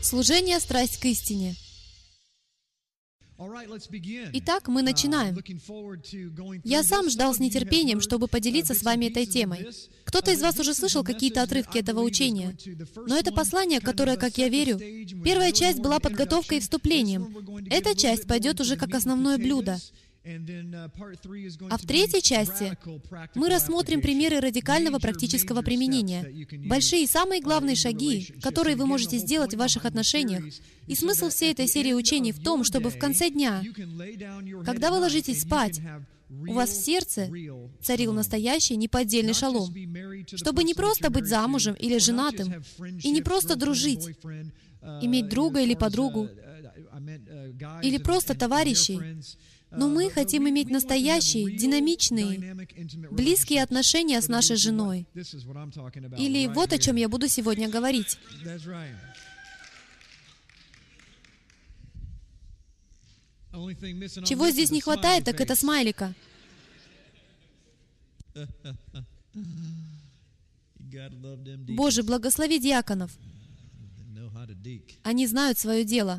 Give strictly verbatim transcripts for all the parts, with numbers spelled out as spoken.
Служение «Страсть к истине». Итак, мы начинаем. Я сам ждал с нетерпением, чтобы поделиться с вами этой темой. Кто-то из вас уже слышал какие-то отрывки этого учения. Но это послание, которое, как я верю, первая часть была подготовкой и вступлением. Эта часть пойдет уже как основное блюдо. А в третьей части мы рассмотрим примеры радикального практического применения, большие и самые главные шаги, которые вы можете сделать в ваших отношениях. И смысл всей этой серии учений в том, чтобы в конце дня, когда вы ложитесь спать, у вас в сердце царил настоящий неподдельный шалом, чтобы не просто быть замужем или женатым, и не просто дружить, иметь друга или подругу, или просто товарищей, но мы хотим иметь настоящие, динамичные, близкие отношения с нашей женой. Или вот о чем я буду сегодня говорить. Чего здесь не хватает, так это смайлика. Боже, благослови диаконов. Они знают свое дело.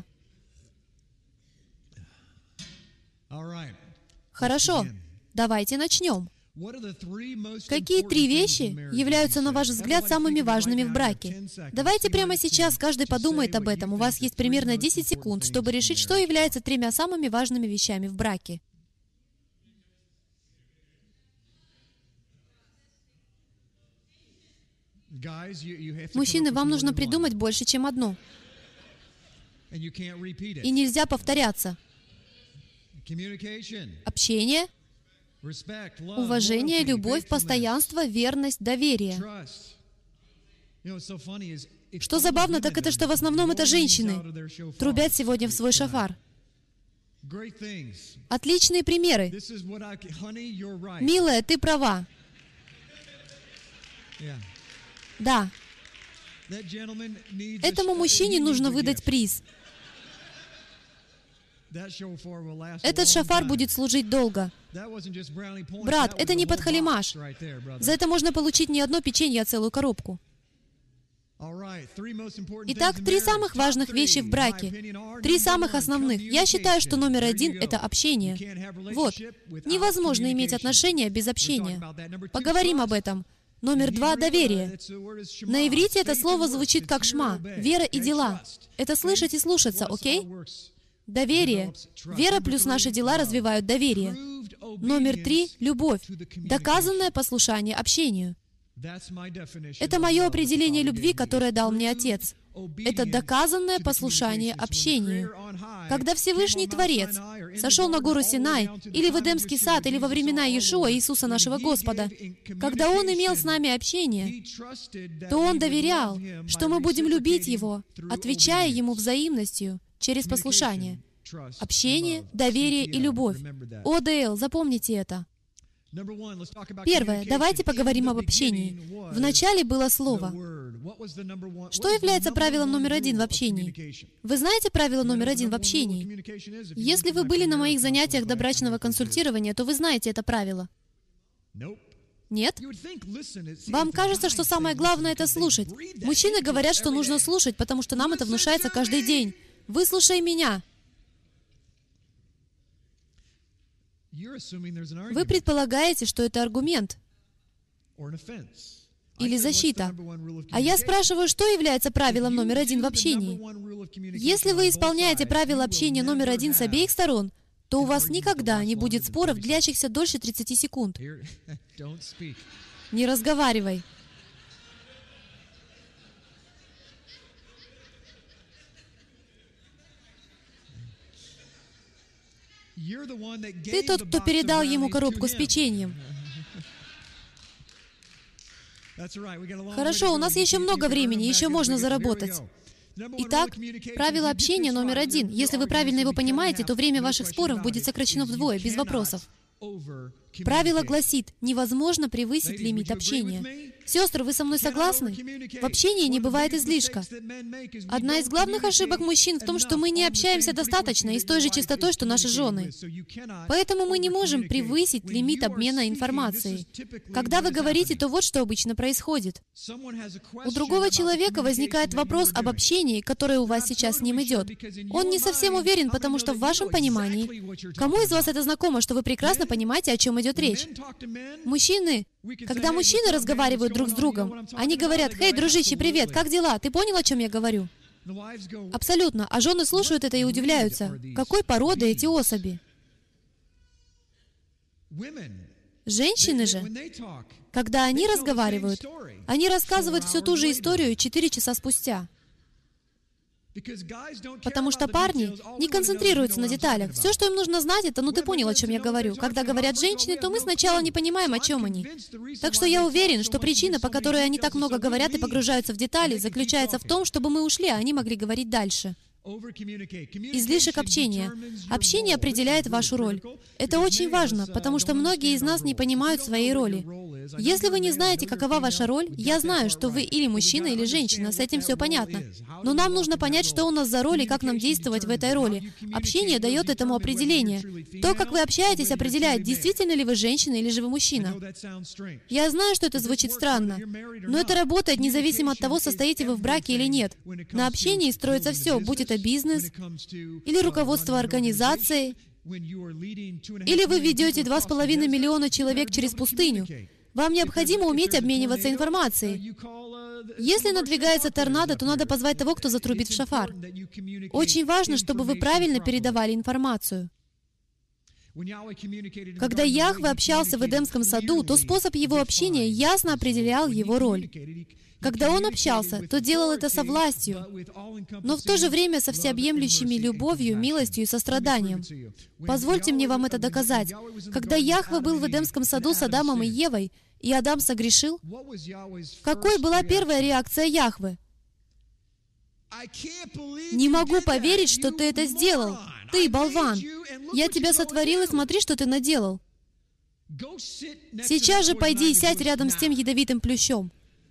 Хорошо, давайте начнем. Какие три вещи являются, на ваш взгляд, самыми важными в браке? Давайте прямо сейчас каждый подумает об этом. У вас есть примерно десять секунд, чтобы решить, что является тремя самыми важными вещами в браке. Мужчины, вам нужно придумать больше, чем одно. И нельзя повторяться. Общение, уважение, любовь, постоянство, верность, доверие. Что забавно, так это, что в основном это женщины трубят сегодня в свой шофар. Отличные примеры. Милая, ты права. Да. Этому мужчине нужно выдать приз. Этот шофар будет служить долго. Брат, это не подхалимаш. За это можно получить не одно печенье, а целую коробку. Итак, три самых важных вещи в браке. Три самых основных. Я считаю, что номер один — это общение. Вот. Невозможно иметь отношения без общения. Поговорим об этом. Номер два — доверие. На иврите это слово звучит как шма, вера и дела. Это слышать и слушаться, окей? Доверие. Вера плюс наши дела развивают доверие. Номер три — любовь. Доказанное послушание общению. Это мое определение любви, которое дал мне Отец. Это доказанное послушание общению. Когда Всевышний Творец сошел на гору Синай, или в Эдемский сад, или во времена Иешуа, Иисуса нашего Господа, когда Он имел с нами общение, то Он доверял, что мы будем любить Его, отвечая Ему взаимностью через послушание. Общение, доверие и любовь. О Д Л, запомните это. Первое. Давайте поговорим об общении. В начале было слово. Что является правилом номер один в общении? Вы знаете правило номер один в общении? Если вы были на моих занятиях добрачного консультирования, то вы знаете это правило. Нет? Вам кажется, что самое главное — это слушать. Мужчины говорят, что нужно слушать, потому что нам это внушается каждый день. Выслушай меня. Вы предполагаете, что это аргумент или защита. А я спрашиваю, что является правилом номер один в общении? Если вы исполняете правило общения номер один с обеих сторон, то у вас никогда не будет споров, длящихся дольше тридцати секунд. Не разговаривай. Ты тот, кто передал ему коробку с печеньем. Хорошо, у нас еще много времени, еще можно заработать. Итак, правило общения номер один. Если вы правильно его понимаете, то время ваших споров будет сокращено вдвое, без вопросов. Правило гласит, невозможно превысить лимит общения. Сестры, вы со мной согласны? В общении не бывает излишка. Одна из главных ошибок мужчин в том, что мы не общаемся достаточно и с той же частотой, что наши жены. Поэтому мы не можем превысить лимит обмена информацией. Когда вы говорите, то вот что обычно происходит. У другого человека возникает вопрос об общении, которое у вас сейчас с ним идет. Он не совсем уверен, потому что в вашем понимании, кому из вас это знакомо, что вы прекрасно понимаете, о чем идет речь? Мужчины, когда мужчины разговаривают друг с другом, они говорят: «Хей, дружище, привет, как дела? Ты понял, о чем я говорю?» Абсолютно. А жены слушают это и удивляются. Какой породы эти особи? Женщины же, когда они разговаривают, они рассказывают всю ту же историю четыре часа спустя. Потому что парни не концентрируются на деталях. Все, что им нужно знать, это, ну ты понял, о чем я говорю. Когда говорят женщины, то мы сначала не понимаем, о чем они. Так что я уверен, что причина, по которой они так много говорят и погружаются в детали, заключается в том, чтобы мы ушли, а они могли говорить дальше. Излишек общения. Общение определяет вашу роль. Это очень важно, потому что многие из нас не понимают своей роли. Если вы не знаете, какова ваша роль, я знаю, что вы или мужчина, или женщина, с этим все понятно. Но нам нужно понять, что у нас за роль и как нам действовать в этой роли. Общение дает этому определение. То, как вы общаетесь, определяет, действительно ли вы женщина или же вы мужчина. Я знаю, что это звучит странно, но это работает независимо от того, состоите вы в браке или нет. На общении строится все, будь это бизнес, или руководство организацией, или вы ведете два с половиной миллиона человек через пустыню. Вам необходимо уметь обмениваться информацией. Если надвигается торнадо, то надо позвать того, кто затрубит в шафар. Очень важно, чтобы вы правильно передавали информацию. Когда Яхве общался в Эдемском саду, то способ его общения ясно определял его роль. Когда он общался, то делал это со властью, но в то же время со всеобъемлющими любовью, милостью и состраданием. Позвольте мне вам это доказать. Когда Яхве был в Эдемском саду с Адамом и Евой, и Адам согрешил, какой была первая реакция Яхве? «Не могу поверить, что ты это сделал. Ты, болван! Я тебя сотворил, и смотри, что ты наделал. Сейчас же пойди и сядь рядом с тем ядовитым плющом».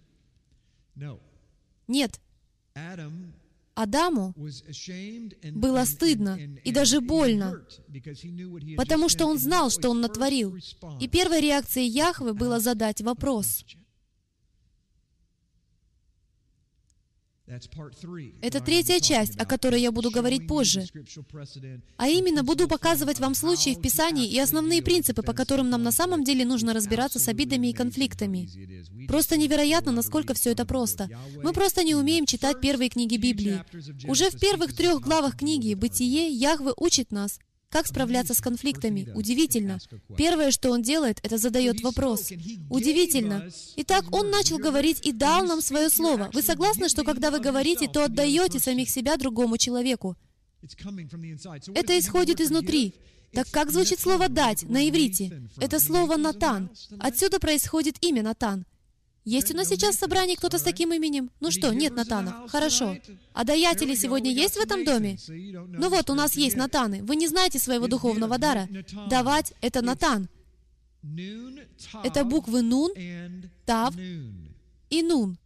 Нет. Адаму было стыдно и даже больно, потому что он знал, что он натворил. И первой реакцией Яхве было задать вопрос. Это третья часть, о которой я буду говорить позже. А именно, буду показывать вам случаи в Писании и основные принципы, по которым нам на самом деле нужно разбираться с обидами и конфликтами. Просто невероятно, насколько все это просто. Мы просто не умеем читать первые книги Библии. Уже в первых трех главах книги «Бытие» Яхве учит нас, как справляться с конфликтами. Удивительно. Первое, что он делает, это задает вопрос. Удивительно. Итак, он начал говорить и дал нам свое слово. Вы согласны, что когда вы говорите, то отдаете самих себя другому человеку? Это исходит изнутри. Так как звучит слово «дать» на иврите? Это слово «натан». Отсюда происходит имя Натан. Есть у нас сейчас в собрании кто-то с таким именем? Ну что, нет Натанов. Хорошо. А даятели сегодня есть в этом доме? Ну вот, у нас есть Натаны. Вы не знаете своего духовного дара. Давать — это Натан. Это буквы Нун, Тав и Нун.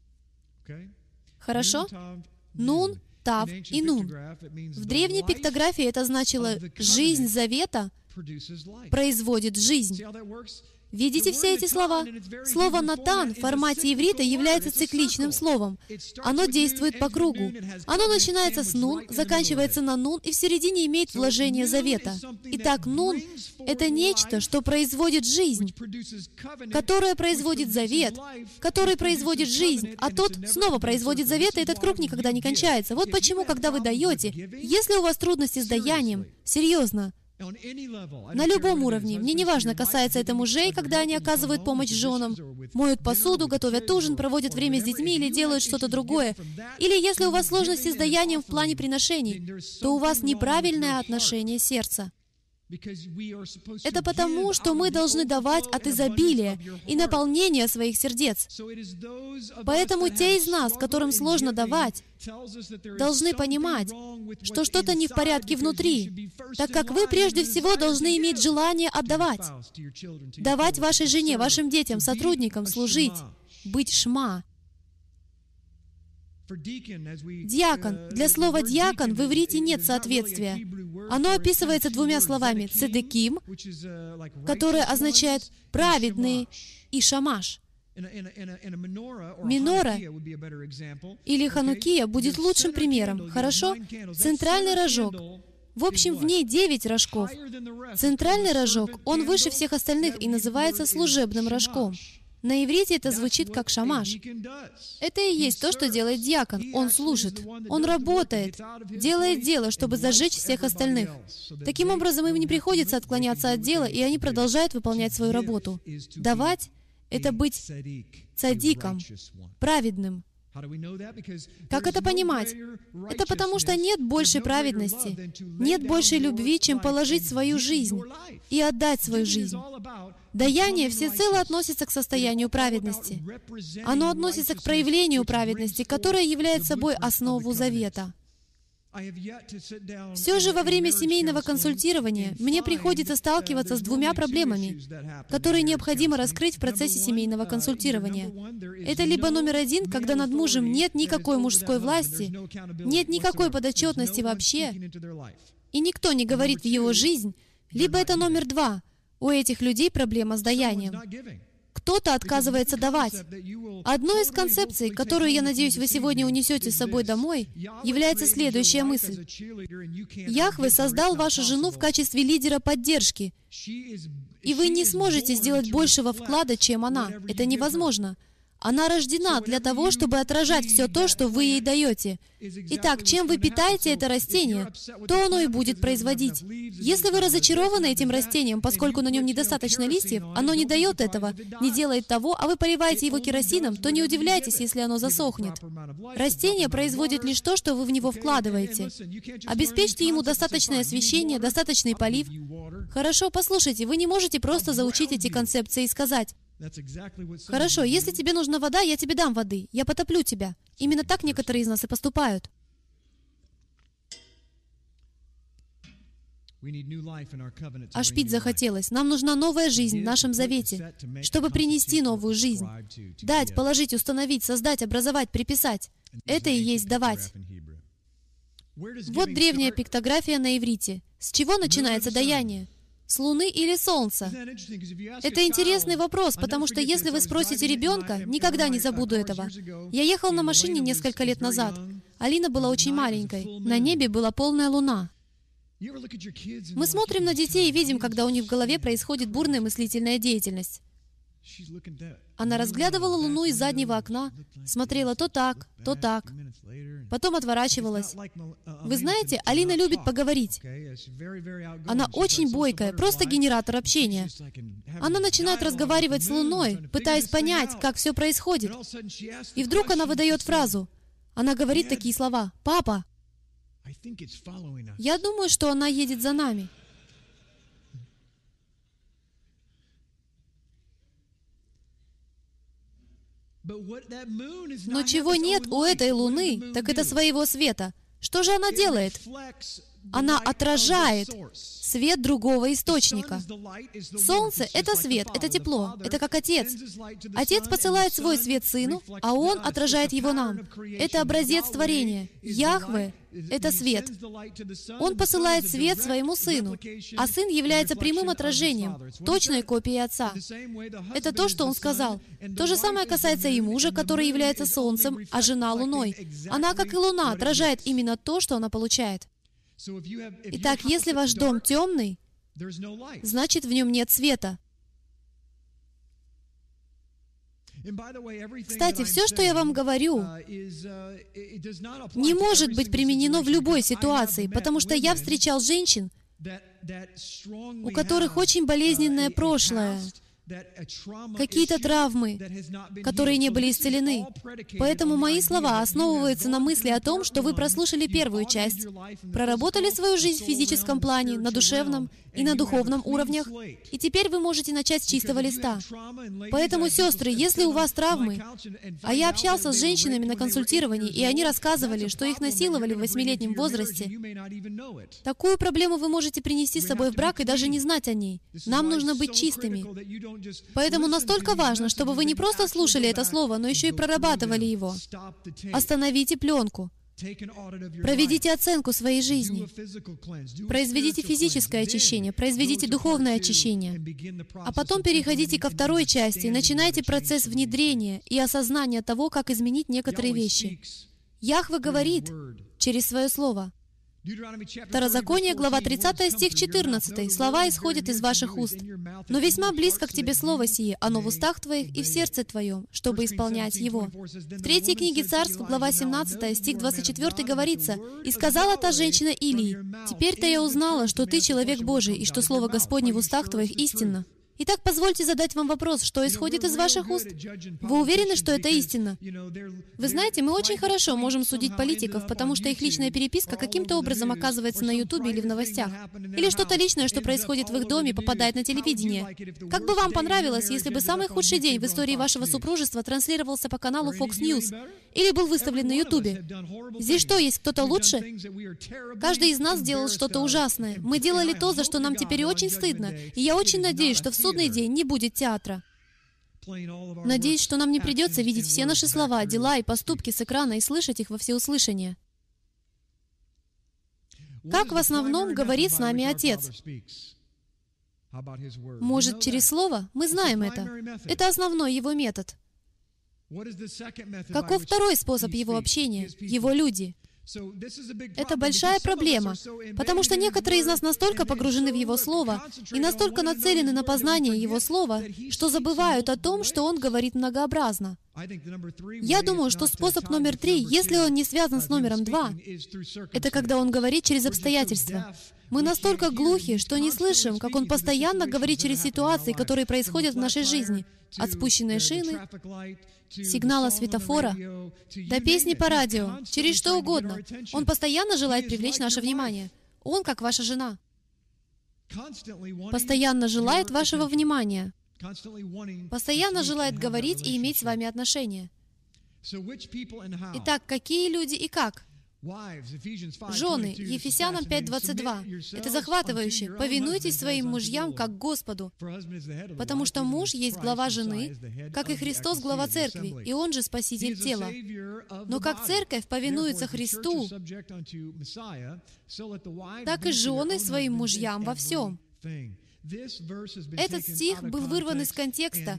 Хорошо? Нун, Тав и Нун. В древней пиктографии это значило «жизнь завета производит жизнь». Видите все эти слова? Слово «натан» в формате иврита является цикличным словом. Оно действует по кругу. Оно начинается с «нун», заканчивается на «нун» и в середине имеет вложение завета. Итак, «нун» — это нечто, что производит жизнь, которое производит завет, который производит жизнь, а тот снова производит завет, и этот круг никогда не кончается. Вот почему, когда вы даете, если у вас трудности с даянием, серьезно, на любом уровне, мне не важно, касается это мужей, когда они оказывают помощь женам, моют посуду, готовят ужин, проводят время с детьми или делают что-то другое. Или если у вас сложности с даянием в плане приношений, то у вас неправильное отношение сердца. Это потому, что мы должны давать от изобилия и наполнения своих сердец. Поэтому те из нас, которым сложно давать, должны понимать, что что-то не в порядке внутри. так как вы прежде всего должны иметь желание отдавать. Давать вашей жене, вашим детям, сотрудникам, служить, быть шма. Диакон. Для слова «диакон» в иврите нет соответствия. Оно описывается двумя словами «цедеким», которое означает «праведный», и «шамаш». Минора или ханукия будет лучшим примером. Хорошо? Центральный рожок. В общем, в ней девять рожков. Центральный рожок, он выше всех остальных и называется служебным рожком. На иврите это звучит как шамаш. Это и есть то, что делает диакон. Он служит. Он работает, делает дело, чтобы зажечь всех остальных. Таким образом, им не приходится отклоняться от дела, и они продолжают выполнять свою работу. Давать — это быть цадиком, праведным. Как это понимать? Это потому, что нет большей праведности, нет большей любви, чем положить свою жизнь и отдать свою жизнь. Даяние всецело относится к состоянию праведности. Оно относится к проявлению праведности, которая является собой основу завета. Все же во время семейного консультирования мне приходится сталкиваться с двумя проблемами, которые необходимо раскрыть в процессе семейного консультирования. Это либо номер один, когда над мужем нет никакой мужской власти, нет никакой подотчетности вообще, и никто не говорит в его жизнь, либо это номер два. У этих людей проблема с даянием. Кто-то отказывается давать. Одной из концепций, которую, я надеюсь, вы сегодня унесете с собой домой, является следующая мысль. Яхве создал вашу жену в качестве лидера поддержки, и вы не сможете сделать большего вклада, чем она. Это невозможно. Она рождена для того, чтобы отражать все то, что вы ей даете. Итак, чем вы питаете это растение, то оно и будет производить. Если вы разочарованы этим растением, поскольку на нем недостаточно листьев, оно не дает этого, не делает того, а вы поливаете его керосином, то не удивляйтесь, если оно засохнет. Растение производит лишь то, что вы в него вкладываете. Обеспечьте ему достаточное освещение, достаточный полив. Хорошо, послушайте, вы не можете просто заучить эти концепции и сказать: «Хорошо, если тебе нужна вода, я тебе дам воды. Я потоплю тебя». Именно так некоторые из нас и поступают. Аж пить захотелось. Нам нужна новая жизнь в нашем завете, чтобы принести новую жизнь. Дать, положить, установить, создать, образовать, приписать. Это и есть давать. Вот древняя пиктография на иврите. С чего начинается даяние? С Луны или Солнца? Это интересный вопрос, потому что если вы спросите ребенка, никогда не забуду этого. Я ехал на машине несколько лет назад. Алина была очень маленькой. На небе была полная луна. Мы смотрим на детей и видим, когда у них в голове происходит бурная мыслительная деятельность. Она разглядывала Луну из заднего окна, смотрела то так, то так, потом отворачивалась. Вы знаете, Алина любит поговорить. Она очень бойкая, просто генератор общения. Она начинает разговаривать с Луной, пытаясь понять, как все происходит. И вдруг она выдает фразу. Она говорит такие слова: «Папа, я думаю, что она едет за нами». Но чего нет у этой Луны, так это своего света. Что же она делает? Она отражает свет другого источника. Солнце — это свет, это тепло, это как Отец. Отец посылает свой свет Сыну, а Он отражает его нам. Это образец творения. Яхве — это свет. Он посылает свет своему Сыну, а Сын является прямым отражением, точной копией Отца. Это то, что Он сказал. То же самое касается и мужа, который является Солнцем, а жена — Луной. Она, как и Луна, отражает именно то, что она получает. Итак, если ваш дом темный, значит, в нем нет света. Кстати, все, что я вам говорю, не может быть применено в любой ситуации, потому что я встречал женщин, у которых очень болезненное прошлое, какие-то травмы, которые не были исцелены. Поэтому мои слова основываются на мысли о том, что вы прослушали первую часть, проработали свою жизнь в физическом плане, на душевном и на духовном уровнях, и теперь вы можете начать с чистого листа. Поэтому, сестры, если у вас травмы, а я общался с женщинами на консультировании, и они рассказывали, что их насиловали в восьмилетнем возрасте, такую проблему вы можете принести с собой в брак и даже не знать о ней. Нам нужно быть чистыми. Поэтому настолько важно, чтобы вы не просто слушали это слово, но еще и прорабатывали его. Остановите пленку. Проведите оценку своей жизни. Произведите физическое очищение, произведите духовное очищение. А потом переходите ко второй части и начинайте процесс внедрения и осознания того, как изменить некоторые вещи. Яхве говорит через свое слово. Второзаконие, глава тридцатая, стих четырнадцатый. «Слова исходят из ваших уст, но весьма близко к тебе слово сие, оно в устах твоих и в сердце твоем, чтобы исполнять его». В третьей книге Царств, глава семнадцатая, стих двадцать четвёртый говорится: «И сказала та женщина Илии: теперь-то я узнала, что ты человек Божий, и что слово Господне в устах твоих истинно». Итак, позвольте задать вам вопрос, что исходит из ваших уст? Вы уверены, что это истина? Вы знаете, мы очень хорошо можем судить политиков, потому что их личная переписка каким-то образом оказывается на Ютубе или в новостях. Или что-то личное, что происходит в их доме, попадает на телевидение. Как бы вам понравилось, если бы самый худший день в истории вашего супружества транслировался по каналу Fox News или был выставлен на Ютубе? Здесь что, есть кто-то лучше? Каждый из нас делал что-то ужасное. Мы делали то, за что нам теперь очень стыдно. И я очень надеюсь, что в судный день не будет театра. Надеюсь, что нам не придется видеть все наши слова, дела и поступки с экрана и слышать их во всеуслышание. Как в основном говорит с нами Отец? Может, через Слово? Мы знаем это. Это основной Его метод. Каков второй способ Его общения? Его люди. Это большая проблема, потому что некоторые из нас настолько погружены в Его Слово и настолько нацелены на познание Его Слова, что забывают о том, что Он говорит многообразно. Я думаю, что способ номер три, если он не связан с номером два, это когда Он говорит через обстоятельства. Мы настолько глухи, что не слышим, как Он постоянно говорит через ситуации, которые происходят в нашей жизни, от спущенной шины, сигнала светофора, до песни по радио, через что угодно. Он постоянно желает привлечь наше внимание. Он, как ваша жена, постоянно желает вашего внимания, постоянно желает говорить и иметь с вами отношения. Итак, какие люди и как? Жены, Ефесянам пять двадцать два. Это захватывающе. «Повинуйтесь своим мужьям, как Господу, потому что муж есть глава жены, как и Христос глава церкви, и Он же Спаситель тела. Но как церковь повинуется Христу, так и жены своим мужьям во всем». Этот стих был вырван из контекста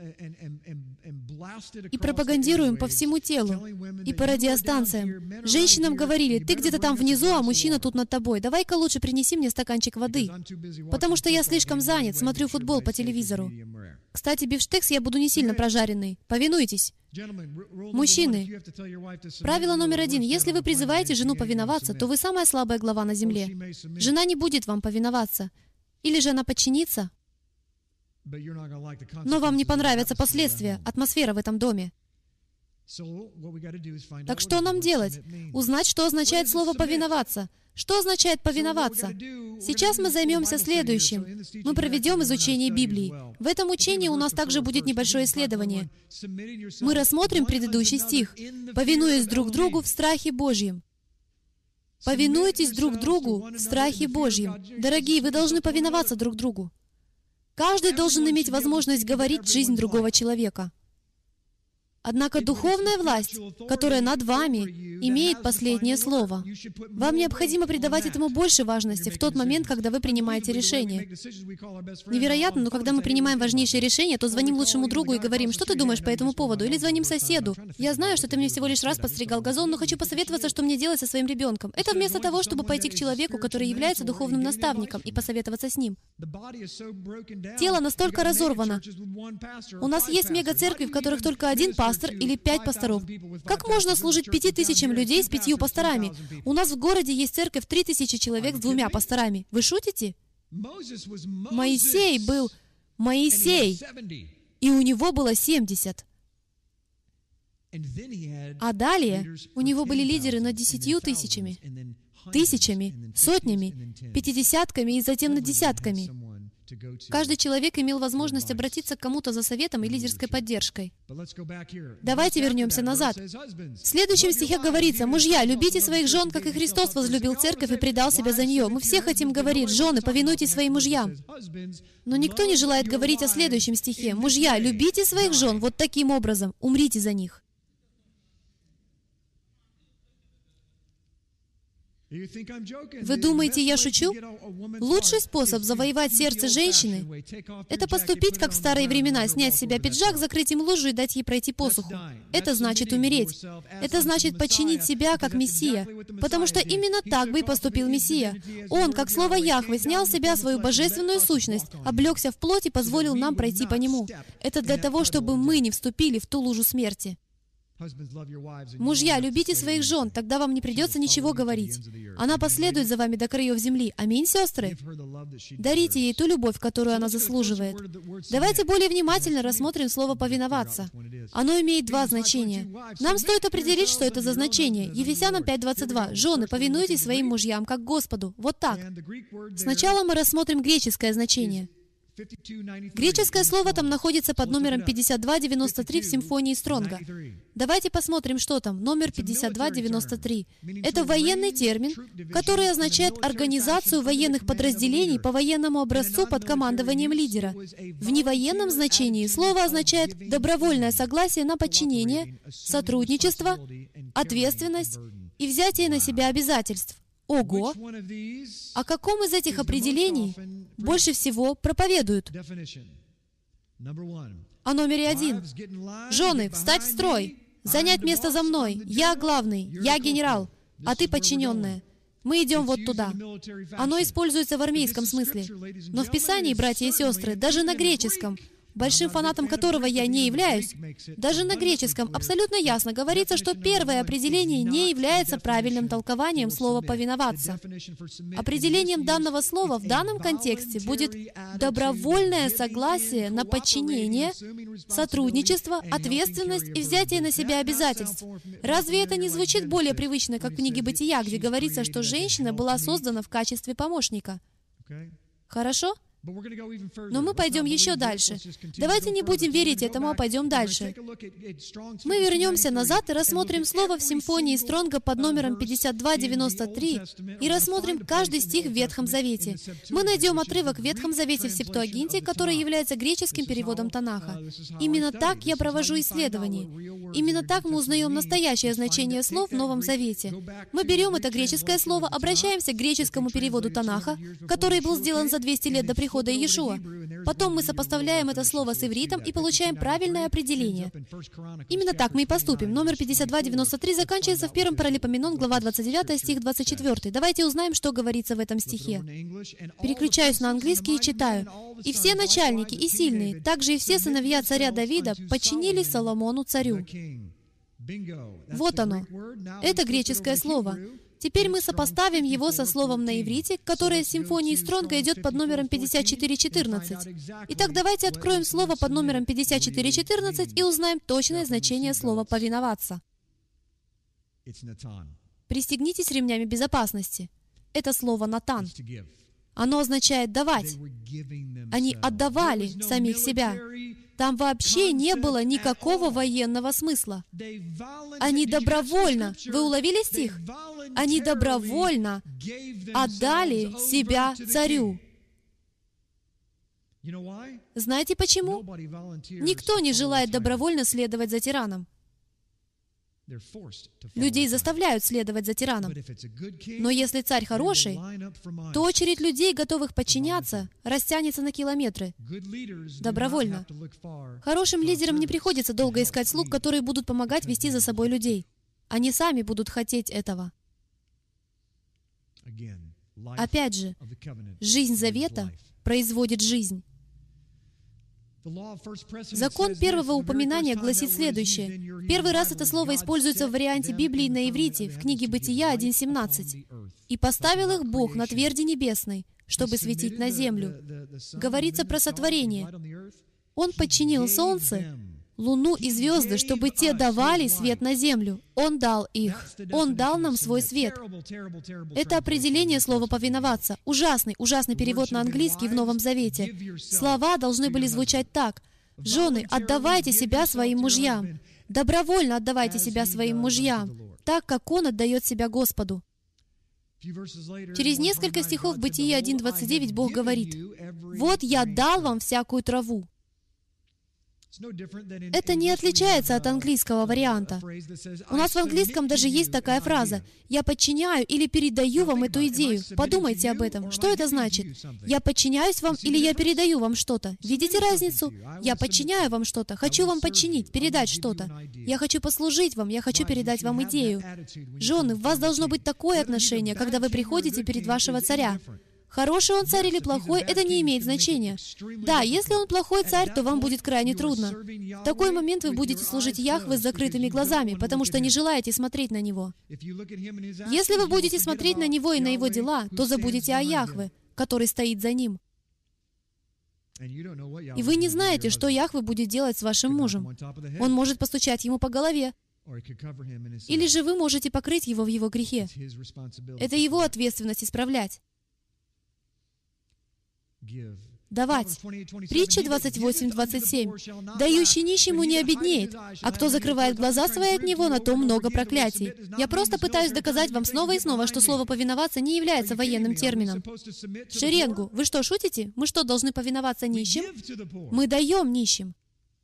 и пропагандируем по всему телу и по радиостанциям. Женщинам говорили: «Ты где-то там внизу, а мужчина тут над тобой. Давай-ка лучше принеси мне стаканчик воды, потому что я слишком занят, смотрю футбол по телевизору. Кстати, бифштекс я буду не сильно прожаренный. Повинуйтесь». Мужчины, правило номер один. Если вы призываете жену повиноваться, то вы самая слабая глава на земле. Жена не будет вам повиноваться. Или же она подчинится, но вам не понравятся последствия, атмосфера в этом доме. Так что нам делать? Узнать, что означает слово «повиноваться». Что означает «повиноваться»? Сейчас мы займемся следующим. Мы проведем изучение Библии. В этом учении у нас также будет небольшое исследование. Мы рассмотрим предыдущий стих: «Повинуясь друг другу в страхе Божьем». Повинуйтесь друг другу в страхе Божьем. Дорогие, вы должны повиноваться друг другу. Каждый должен иметь возможность говорить жизнь другого человека. Однако духовная власть, которая над вами, имеет последнее слово. Вам необходимо придавать этому больше важности в тот момент, когда вы принимаете решение. Невероятно, но когда мы принимаем важнейшее решение, то звоним лучшему другу и говорим: «Что ты думаешь по этому поводу?» Или звоним соседу: «Я знаю, что ты мне всего лишь раз подстригал газон, но хочу посоветоваться, что мне делать со своим ребенком». Это вместо того, чтобы пойти к человеку, который является духовным наставником, и посоветоваться с ним. Тело настолько разорвано. У нас есть мега-церкви, в которых только один пастор или пять пасторов. Как можно служить пяти тысячам людей с пятью пасторами? У нас в городе есть церковь три тысячи человек с двумя пасторами. Вы шутите? Моисей был Моисей, и у него было семьдесят. А далее у него были лидеры над десятью тысячами, тысячами, сотнями, пятидесятками и затем над десятками. Каждый человек имел возможность обратиться к кому-то за советом и лидерской поддержкой. Давайте вернемся назад. В следующем стихе говорится: «Мужья, любите своих жен, как и Христос возлюбил церковь и предал себя за нее». Мы все хотим говорить: «Жены, повинуйтесь своим мужьям». Но никто не желает говорить о следующем стихе: «Мужья, любите своих жен вот таким образом, умрите за них». Вы думаете, я шучу? Лучший способ завоевать сердце женщины — это поступить, как в старые времена, снять с себя пиджак, закрыть им лужу и дать ей пройти посуху. Это значит умереть. Это значит подчинить себя, как Мессия. Потому что именно так бы и поступил Мессия. Он, как слово Яхве, снял с себя свою божественную сущность, облегся в плоть и позволил нам пройти по нему. Это для того, чтобы мы не вступили в ту лужу смерти. Мужья, любите своих жен, тогда вам не придется ничего говорить. Она последует за вами до краев земли. Аминь, сестры? Дарите ей ту любовь, которую она заслуживает. Давайте более внимательно рассмотрим слово «повиноваться». Оно имеет два значения. Нам стоит определить, что это за значение. Ефесянам пять двадцать два. «Жены, повинуйтесь своим мужьям, как Господу». Вот так. Сначала мы рассмотрим греческое значение. Греческое слово там находится под номером пятьдесят два девяносто три в симфонии Стронга. Давайте посмотрим, что там. Номер пятьдесят два девяносто три. Это военный термин, который означает организацию военных подразделений по военному образцу под командованием лидера. В невоенном значении слово означает добровольное согласие на подчинение, сотрудничество, ответственность и взятие на себя обязательств. Ого! О каком из этих определений больше всего проповедуют? О номере один. Жены, встать в строй, занять место за мной. Я главный, я генерал, а ты подчиненная. Мы идем вот туда. Оно используется в армейском смысле. Но в Писании, братья и сестры, даже на греческом, большим фанатом которого я не являюсь, даже на греческом абсолютно ясно говорится, что первое определение не является правильным толкованием слова «повиноваться». Определением данного слова в данном контексте будет добровольное согласие на подчинение, сотрудничество, ответственность и взятие на себя обязательств. Разве это не звучит более привычно, как в книге «Бытия», где говорится, что женщина была создана в качестве помощника? Хорошо? Но мы пойдем еще дальше. Давайте не будем верить этому, а пойдем дальше. Мы вернемся назад и рассмотрим слово в симфонии Стронга под номером пятьдесят два девяносто три и рассмотрим каждый стих в Ветхом Завете. Мы найдем отрывок в Ветхом Завете в Септуагинте, который является греческим переводом Танаха. Именно так я провожу исследования. Именно так мы узнаем настоящее значение слов в Новом Завете. Мы берем это греческое слово, обращаемся к греческому переводу Танаха, который был сделан за двести лет до прихода Иешуа. Потом мы сопоставляем это слово с ивритом и получаем правильное определение. Именно так мы и поступим. Номер пятьдесят два девяносто три заканчивается в первом Паралипоменон, глава двадцать девятая, стих двадцать четвёртый. Давайте узнаем, что говорится в этом стихе. Переключаюсь на английский и читаю. «И все начальники и сильные, также и все сыновья царя Давида подчинились Соломону царю». Вот оно. Это греческое слово. Теперь мы сопоставим его со словом на иврите, которое в симфонии Стронга идет под номером пятьдесят четыре четырнадцать. Итак, давайте откроем слово под номером пятьдесят четыре четырнадцать и узнаем точное значение слова «повиноваться». Пристегнитесь ремнями безопасности. Это слово «натан». Оно означает «давать». Они отдавали самих себя. Там вообще не было никакого военного смысла. Они добровольно, вы уловили стих? Они добровольно отдали себя царю. Знаете почему? Никто не желает добровольно следовать за тираном. Людей заставляют следовать за тираном. Но если царь хороший, то очередь людей, готовых подчиняться, растянется на километры. Добровольно. Хорошим лидерам не приходится долго искать слуг, которые будут помогать вести за собой людей. Они сами будут хотеть этого. Опять же, жизнь завета производит жизнь. Закон первого упоминания гласит следующее. В первый раз это слово используется в варианте Библии на иврите в книге Бытия один семнадцать. «И поставил их Бог на тверди небесной, чтобы светить на землю». Говорится про сотворение. Он подчинил солнце, луну и звезды, чтобы те давали свет на землю. Он дал их. Он дал нам свой свет. Это определение слова «повиноваться». Ужасный, ужасный перевод на английский в Новом Завете. Слова должны были звучать так. «Жены, отдавайте себя своим мужьям. Добровольно отдавайте себя своим мужьям, так, как Он отдает себя Господу». Через несколько стихов в Бытии один двадцать девять Бог говорит: «Вот я дал вам всякую траву». Это не отличается от английского варианта. У нас в английском даже есть такая фраза: «Я подчиняю или передаю вам эту идею». Подумайте об этом. Что это значит? Я подчиняюсь вам или я передаю вам что-то? Видите разницу? Я подчиняю вам что-то, хочу вам подчинить, передать что-то. Я хочу послужить вам, я хочу передать вам идею. Жены, в вас должно быть такое отношение, когда вы приходите перед вашего царя. Хороший он царь или плохой, это не имеет значения. Да, если он плохой царь, то вам будет крайне трудно. В такой момент вы будете служить Яхве с закрытыми глазами, потому что не желаете смотреть на Него. Если вы будете смотреть на Него и на Его дела, то забудете о Яхве, который стоит за Ним. И вы не знаете, что Яхве будет делать с вашим мужем. Он может постучать ему по голове. Или же вы можете покрыть его в его грехе. Это его ответственность исправлять. Давать. Притча двадцать восемь двадцать семь. «Дающий нищему не обеднеет, а кто закрывает глаза свои от него, на том много проклятий». Я просто пытаюсь доказать вам снова и снова, что слово «повиноваться» не является военным термином. Шеренгу, вы что, шутите? Мы что, должны повиноваться нищим? Мы даем нищим.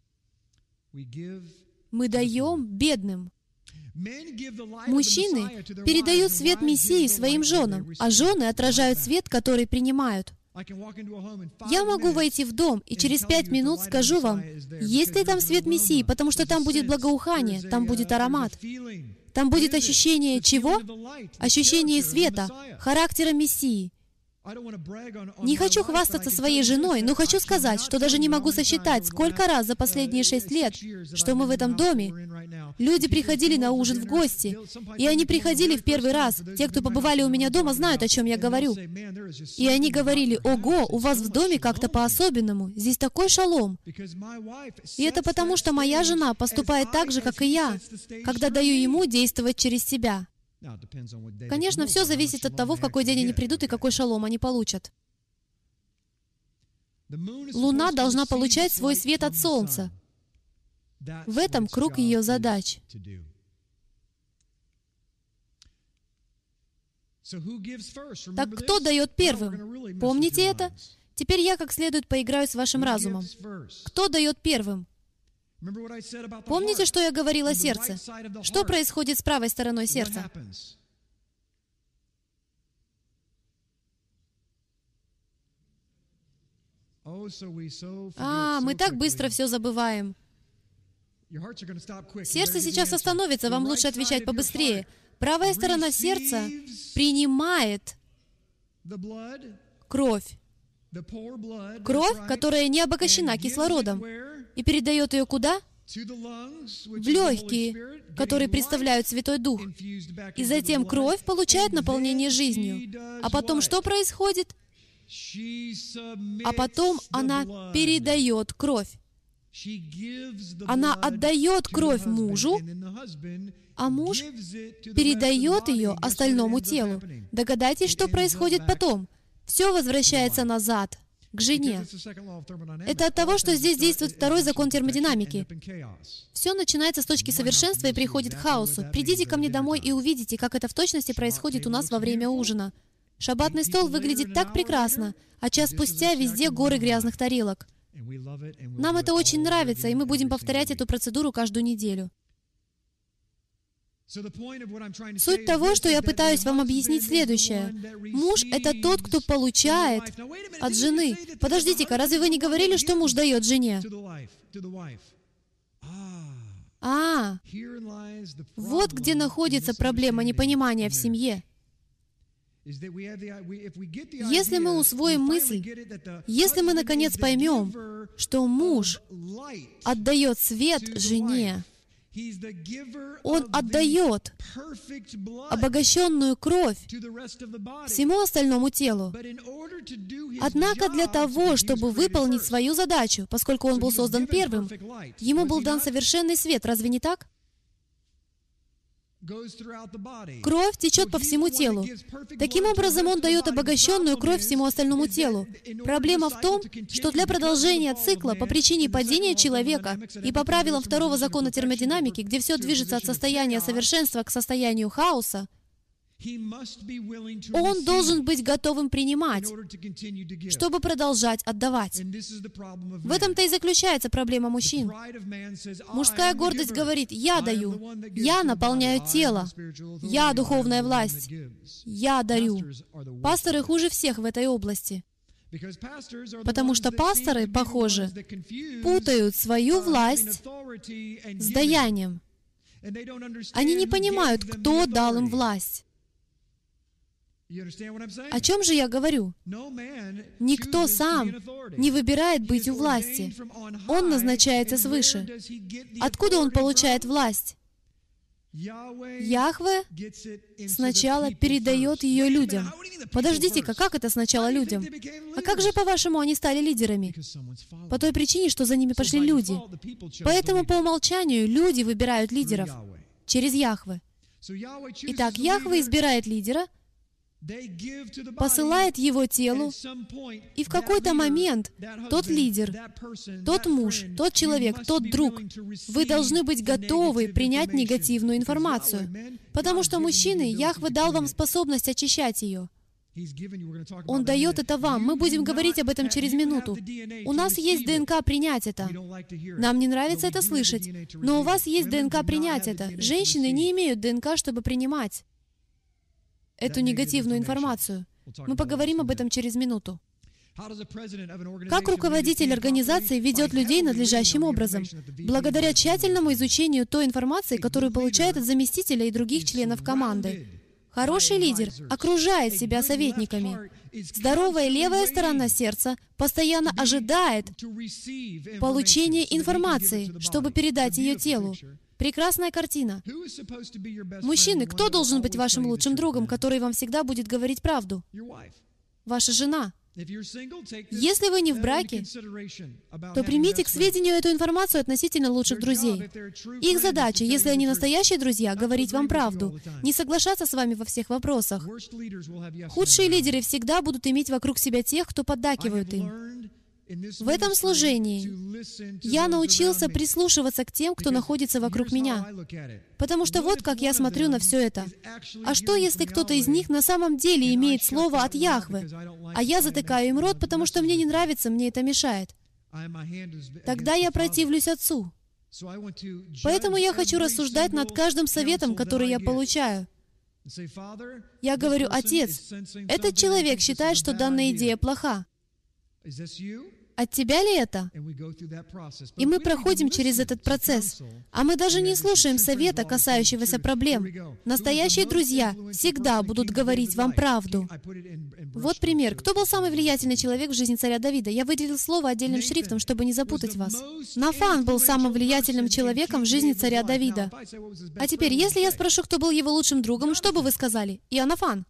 Мы даем бедным. Мужчины передают свет Мессии своим женам, а жены отражают свет, который принимают. Я могу войти в дом, и через пять минут скажу вам, есть ли там свет Мессии, потому что там будет благоухание, там будет аромат. Там будет ощущение чего? Ощущение света, характера Мессии. Не хочу хвастаться своей женой, но хочу сказать, что даже не могу сосчитать, сколько раз за последние шесть лет, что мы в этом доме, люди приходили на ужин в гости, и они приходили в первый раз. Те, кто побывали у меня дома, знают, о чем я говорю. И они говорили: «Ого, у вас в доме как-то по-особенному, здесь такой шалом». И это потому, что моя жена поступает так же, как и я, когда даю ему действовать через себя. Конечно, все зависит от того, в какой день они придут и какой шалом они получат. Луна должна получать свой свет от Солнца. В этом круг ее задач. Так кто дает первым? Помните это? Теперь я как следует поиграю с вашим разумом. Кто дает первым? Помните, что я говорил о сердце? Что происходит с правой стороной сердца? А, мы так быстро все забываем. Сердце сейчас остановится, вам лучше отвечать побыстрее. Правая сторона сердца принимает кровь. Кровь, которая не обогащена кислородом, и передает ее куда? В легкие, которые представляют Святой Дух. И затем кровь получает наполнение жизнью. А потом что происходит? А потом она передает кровь. Она отдает кровь мужу, а муж передает ее остальному телу. Догадайтесь, что происходит потом. Все возвращается назад, к жене. Это от того, что здесь действует второй закон термодинамики. Все начинается с точки совершенства и приходит к хаосу. Придите ко мне домой и увидите, как это в точности происходит у нас во время ужина. Шаббатный стол выглядит так прекрасно, а час спустя везде горы грязных тарелок. Нам это очень нравится, и мы будем повторять эту процедуру каждую неделю. Суть того, что я пытаюсь вам объяснить, следующее. Муж — это тот, кто получает от жены. Подождите-ка, разве вы не говорили, что муж дает жене? А, вот где находится проблема непонимания в семье. Если мы усвоим мысль, если мы, наконец, поймем, что муж отдает свет жене. Он отдает обогащенную кровь всему остальному телу. Однако для того, чтобы выполнить свою задачу, поскольку он был создан первым, ему был дан совершенный свет. Разве не так? Кровь течет по всему телу. Таким образом, он дает обогащенную кровь всему остальному телу. Проблема в том, что для продолжения цикла по причине падения человека и по правилам второго закона термодинамики, где все движется от состояния совершенства к состоянию хаоса, он должен быть готовым принимать, чтобы продолжать отдавать. В этом-то и заключается проблема мужчин. Мужская гордость говорит: «Я даю, я наполняю тело, я духовная власть, я дарю». Пасторы хуже всех в этой области. Потому что пасторы, похоже, путают свою власть с даянием. Они не понимают, кто дал им власть. О чем же я говорю? Никто сам не выбирает быть у власти. Он назначается свыше. Откуда он получает власть? Яхве сначала передает ее людям. Подождите-ка, как это сначала людям? А как же, по-вашему, они стали лидерами? По той причине, что за ними пошли люди. Поэтому по умолчанию люди выбирают лидеров через Яхве. Итак, Яхве избирает лидера, посылает его телу, и в какой-то момент тот лидер, тот муж, тот человек, тот друг, вы должны быть готовы принять негативную информацию, потому что, мужчины, Яхве дал вам способность очищать ее. Он дает это вам. Мы будем говорить об этом через минуту. У нас есть ДНК принять это. Нам не нравится это слышать, но у вас есть ДНК принять это. Женщины не имеют ДНК, чтобы принимать эту негативную информацию. Мы поговорим об этом через минуту. Как руководитель организации ведет людей надлежащим образом? Благодаря тщательному изучению той информации, которую получает от заместителя и других членов команды. Хороший лидер окружает себя советниками. Здоровая левая сторона сердца постоянно ожидает получения информации, чтобы передать ее телу. Прекрасная картина. Мужчины, кто должен быть вашим лучшим другом, который вам всегда будет говорить правду? Ваша жена. Если вы не в браке, то примите к сведению эту информацию относительно лучших друзей. Их задача, если они настоящие друзья, говорить вам правду, не соглашаться с вами во всех вопросах. Худшие лидеры всегда будут иметь вокруг себя тех, кто поддакивают им. В этом служении я научился прислушиваться к тем, кто находится вокруг меня. Потому что вот как я смотрю на все это. А что, если кто-то из них на самом деле имеет слово от Яхве, а я затыкаю им рот, потому что мне не нравится, мне это мешает? Тогда я противлюсь Отцу. Поэтому я хочу рассуждать над каждым советом, который я получаю. Я говорю: «Отец, этот человек считает, что данная идея плоха. От тебя ли это?» И мы проходим через этот процесс. А мы даже не слушаем совета, касающегося проблем. Настоящие друзья всегда будут говорить вам правду. Вот пример. Кто был самый влиятельный человек в жизни царя Давида? Я выделил слово отдельным шрифтом, чтобы не запутать вас. Нафан был самым влиятельным человеком в жизни царя Давида. А теперь, если я спрошу, кто был его лучшим другом, что бы вы сказали? Иоаннафан.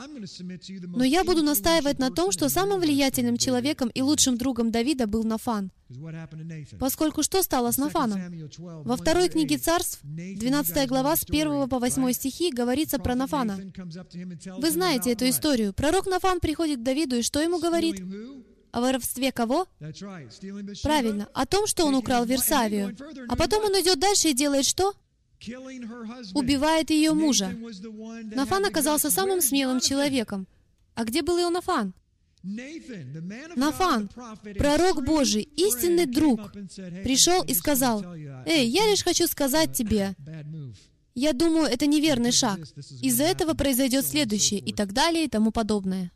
Но я буду настаивать на том, что самым влиятельным человеком и лучшим другом Давида был Нафан. Поскольку что стало с Нафаном? Во второй книге Царств, двенадцатая глава, с первого по восьмой стихи, говорится про Нафана. Вы знаете эту историю. Пророк Нафан приходит к Давиду, и что ему говорит? О воровстве кого? Правильно, о том, что он украл Версавию. А потом он идет дальше и делает что? Убивает ее мужа. Нафан оказался самым смелым человеком. А где был Иоаннафан? Нафан, пророк Божий, истинный друг, пришел и сказал: «Эй, я лишь хочу сказать тебе, я думаю, это неверный шаг. Из-за этого произойдет следующее», и так далее, и тому подобное.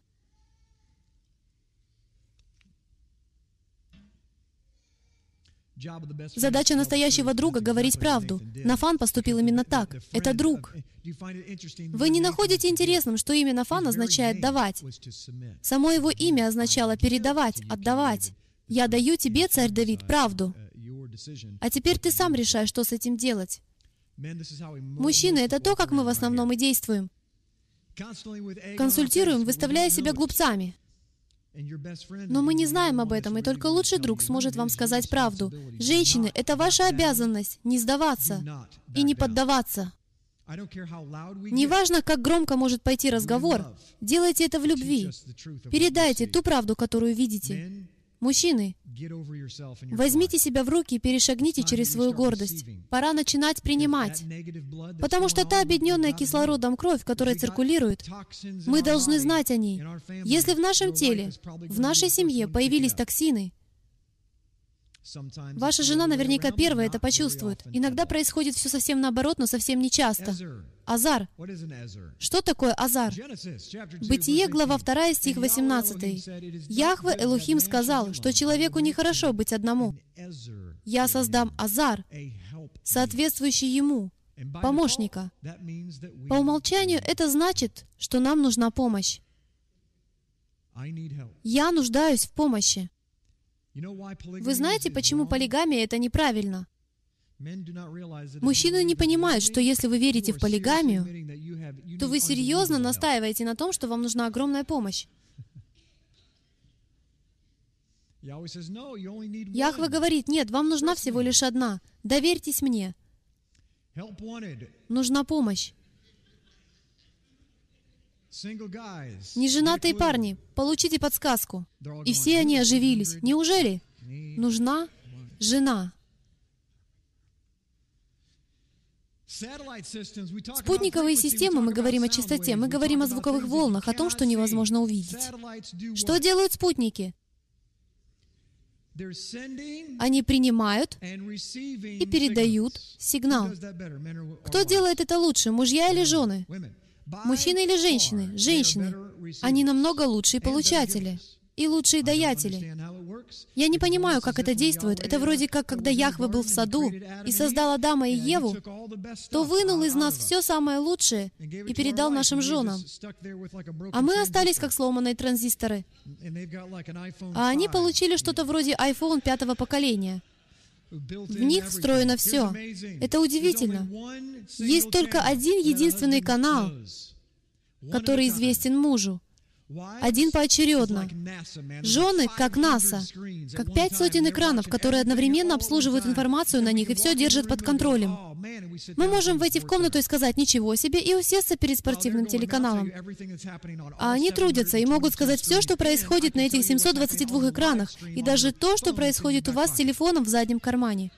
Задача настоящего друга — говорить правду. Нафан поступил именно так. Это друг. Вы не находите интересным, что имя Нафан означает «давать»? Само его имя означало «передавать», «отдавать». Я даю тебе, царь Давид, правду. А теперь ты сам решай, что с этим делать. Мужчины, это то, как мы в основном и действуем. Консультируем, выставляя себя глупцами. Но мы не знаем об этом, и только лучший друг сможет вам сказать правду. Женщины, это ваша обязанность не сдаваться и не поддаваться. Неважно, как громко может пойти разговор, делайте это в любви. Передайте ту правду, которую видите. Мужчины, возьмите себя в руки и перешагните через свою гордость. Пора начинать принимать. Потому что та объединенная кислородом кровь, которая циркулирует, мы должны знать о ней. Если в нашем теле, в нашей семье появились токсины, ваша жена наверняка первая это почувствует. Иногда происходит все совсем наоборот, но совсем не часто. Азар. Что такое азар? Бытие, глава вторая, стих восемнадцатый. Яхве Элохим сказал, что человеку нехорошо быть одному. Я создам азар, соответствующий ему, помощника. По умолчанию это значит, что нам нужна помощь. Я нуждаюсь в помощи. Вы знаете, почему полигамия — это неправильно? Мужчины не понимают, что если вы верите в полигамию, то вы серьезно настаиваете на том, что вам нужна огромная помощь. Яхве говорит, нет, вам нужна всего лишь одна. Доверьтесь мне. Нужна помощь. Неженатые парни, получите подсказку. И все они оживились. Неужели? Нужна жена. Спутниковые системы, мы говорим о частоте, мы говорим о звуковых волнах, о том, что невозможно увидеть. Что делают спутники? Они принимают и передают сигнал. Кто делает это лучше, мужья или жены? Мужчины или женщины? Женщины. Они намного лучшие получатели и лучшие даятели. Я не понимаю, как это действует. Это вроде как, когда Яхве был в саду и создал Адама и Еву, то вынул из нас все самое лучшее и передал нашим женам. А мы остались как сломанные транзисторы. А они получили что-то вроде iPhone пятого поколения. В них встроено все. Это удивительно. Есть только один единственный канал, который известен мужу. Один поочередно. Жены, как НАСА, как пять сотен экранов, которые одновременно обслуживают информацию на них и все держат под контролем. Мы можем войти в комнату и сказать «ничего себе» и усесться перед спортивным телеканалом. А они трудятся и могут сказать все, что происходит на этих семьсот двадцати двух экранах, и даже то, что происходит у вас с телефоном в заднем кармане.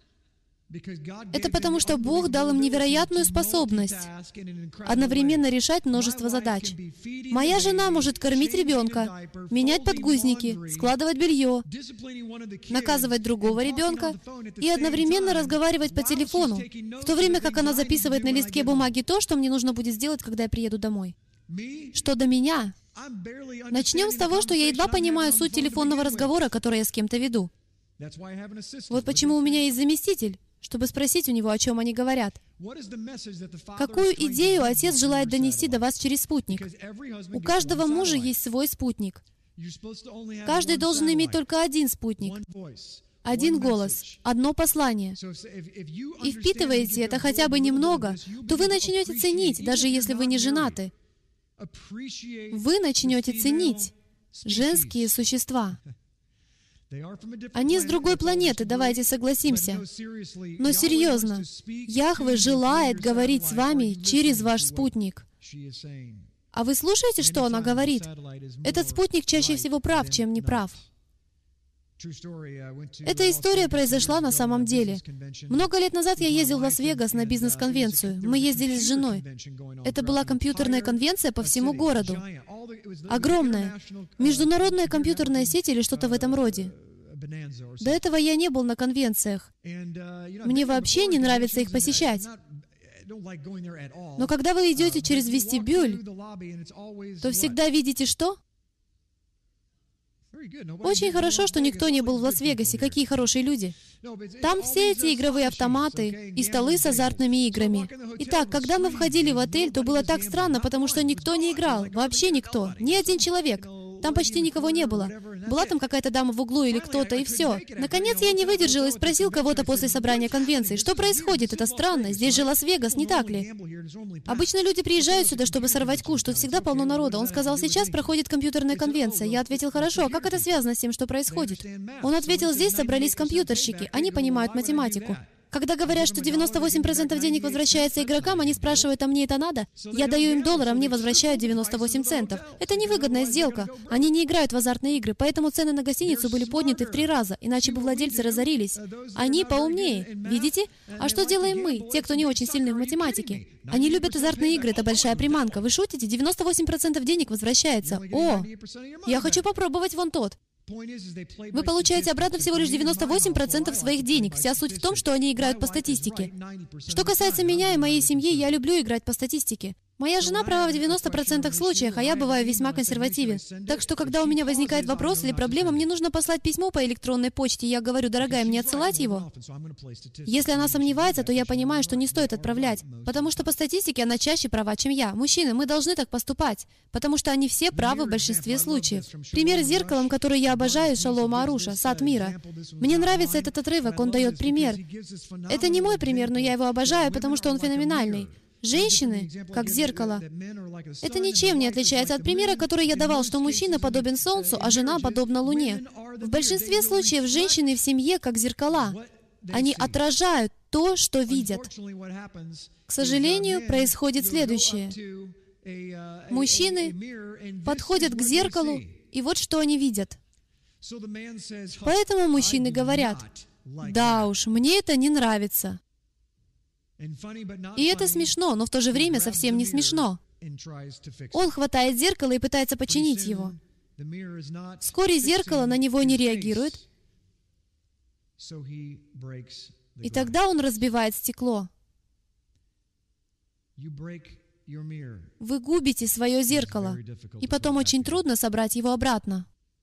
Это потому, что Бог дал им невероятную способность одновременно решать множество задач. Моя жена может кормить ребенка, менять подгузники, складывать белье, наказывать другого ребенка и одновременно разговаривать по телефону, в то время как она записывает на листке бумаги то, что мне нужно будет сделать, когда я приеду домой. Что до меня? Начнем с того, что я едва понимаю суть телефонного разговора, который я с кем-то веду. Вот почему у меня есть заместитель, чтобы спросить у него, о чем они говорят. Какую идею отец желает донести до вас через спутник? У каждого мужа есть свой спутник. Каждый должен иметь только один спутник, один голос, одно послание. И впитываете это хотя бы немного, то вы начнете ценить, даже если вы не женаты. Вы начнете ценить женские существа. Они с другой планеты, давайте согласимся. Но серьезно, Яхве желает говорить с вами через ваш спутник. А вы слушаете, что она говорит? Этот спутник чаще всего прав, чем не прав. Эта история произошла на самом деле. Много лет назад я ездил в Лас-Вегас на бизнес-конвенцию. Мы ездили с женой. Это была компьютерная конвенция по всему городу. Огромная. Международная компьютерная сеть или что-то в этом роде. До этого я не был на конвенциях. Мне вообще не нравится их посещать. Но когда вы идете через вестибюль, то всегда видите что? Очень хорошо, что никто не был в Лас-Вегасе. Какие хорошие люди. Там все эти игровые автоматы и столы с азартными играми. Итак, когда мы входили в отель, то было так странно, потому что никто не играл. Вообще никто. Ни один человек. Там почти никого не было. Была там какая-то дама в углу или кто-то, и все. Наконец я не выдержал и спросил кого-то после собрания конвенции, что происходит, это странно, здесь же Лас-Вегас, не так ли? Обычно люди приезжают сюда, чтобы сорвать куш, тут всегда полно народа. Он сказал, сейчас проходит компьютерная конвенция. Я ответил, хорошо, а как это связано с тем, что происходит? Он ответил, здесь собрались компьютерщики, они понимают математику. Когда говорят, что девяносто восемь процентов денег возвращается игрокам, они спрашивают, а мне это надо? Я даю им доллар, а мне возвращают девяносто восемь центов. Это невыгодная сделка. Они не играют в азартные игры, поэтому цены на гостиницу были подняты в три раза, иначе бы владельцы разорились. Они поумнее, видите? А что делаем мы, те, кто не очень сильны в математике? Они любят азартные игры, это большая приманка. Вы шутите? девяносто восемь процентов денег возвращается. О, я хочу попробовать вон тот. Вы получаете обратно всего лишь девяносто восемь процентов своих денег. Вся суть в том, что они играют по статистике. Что касается меня и моей семьи, я люблю играть по статистике. Моя жена права в девяноста процентах случаях, а я бываю весьма консервативен. Так что, когда у меня возникает вопрос или проблема, мне нужно послать письмо по электронной почте, и я говорю, дорогая, мне отсылать его? Если она сомневается, то я понимаю, что не стоит отправлять, потому что по статистике она чаще права, чем я. Мужчины, мы должны так поступать, потому что они все правы в большинстве случаев. Пример с зеркалом, который я обожаю, Шалома Аруша, «Сад мира». Мне нравится этот отрывок, он дает пример. Это не мой пример, но я его обожаю, потому что он феноменальный. Женщины, как зеркало, это ничем не отличается от примера, который я давал, что мужчина подобен Солнцу, а жена подобна Луне. В большинстве случаев женщины в семье как зеркала. Они отражают то, что видят. К сожалению, происходит следующее. Мужчины подходят к зеркалу, и вот что они видят. Поэтому мужчины говорят, «Да уж, мне это не нравится». И это смешно, но в то же время совсем не смешно. Он хватает зеркало и пытается починить его. Вскоре зеркало на него не реагирует, и тогда он разбивает стекло. Вы губите свое зеркало, и потом очень трудно собрать его обратно.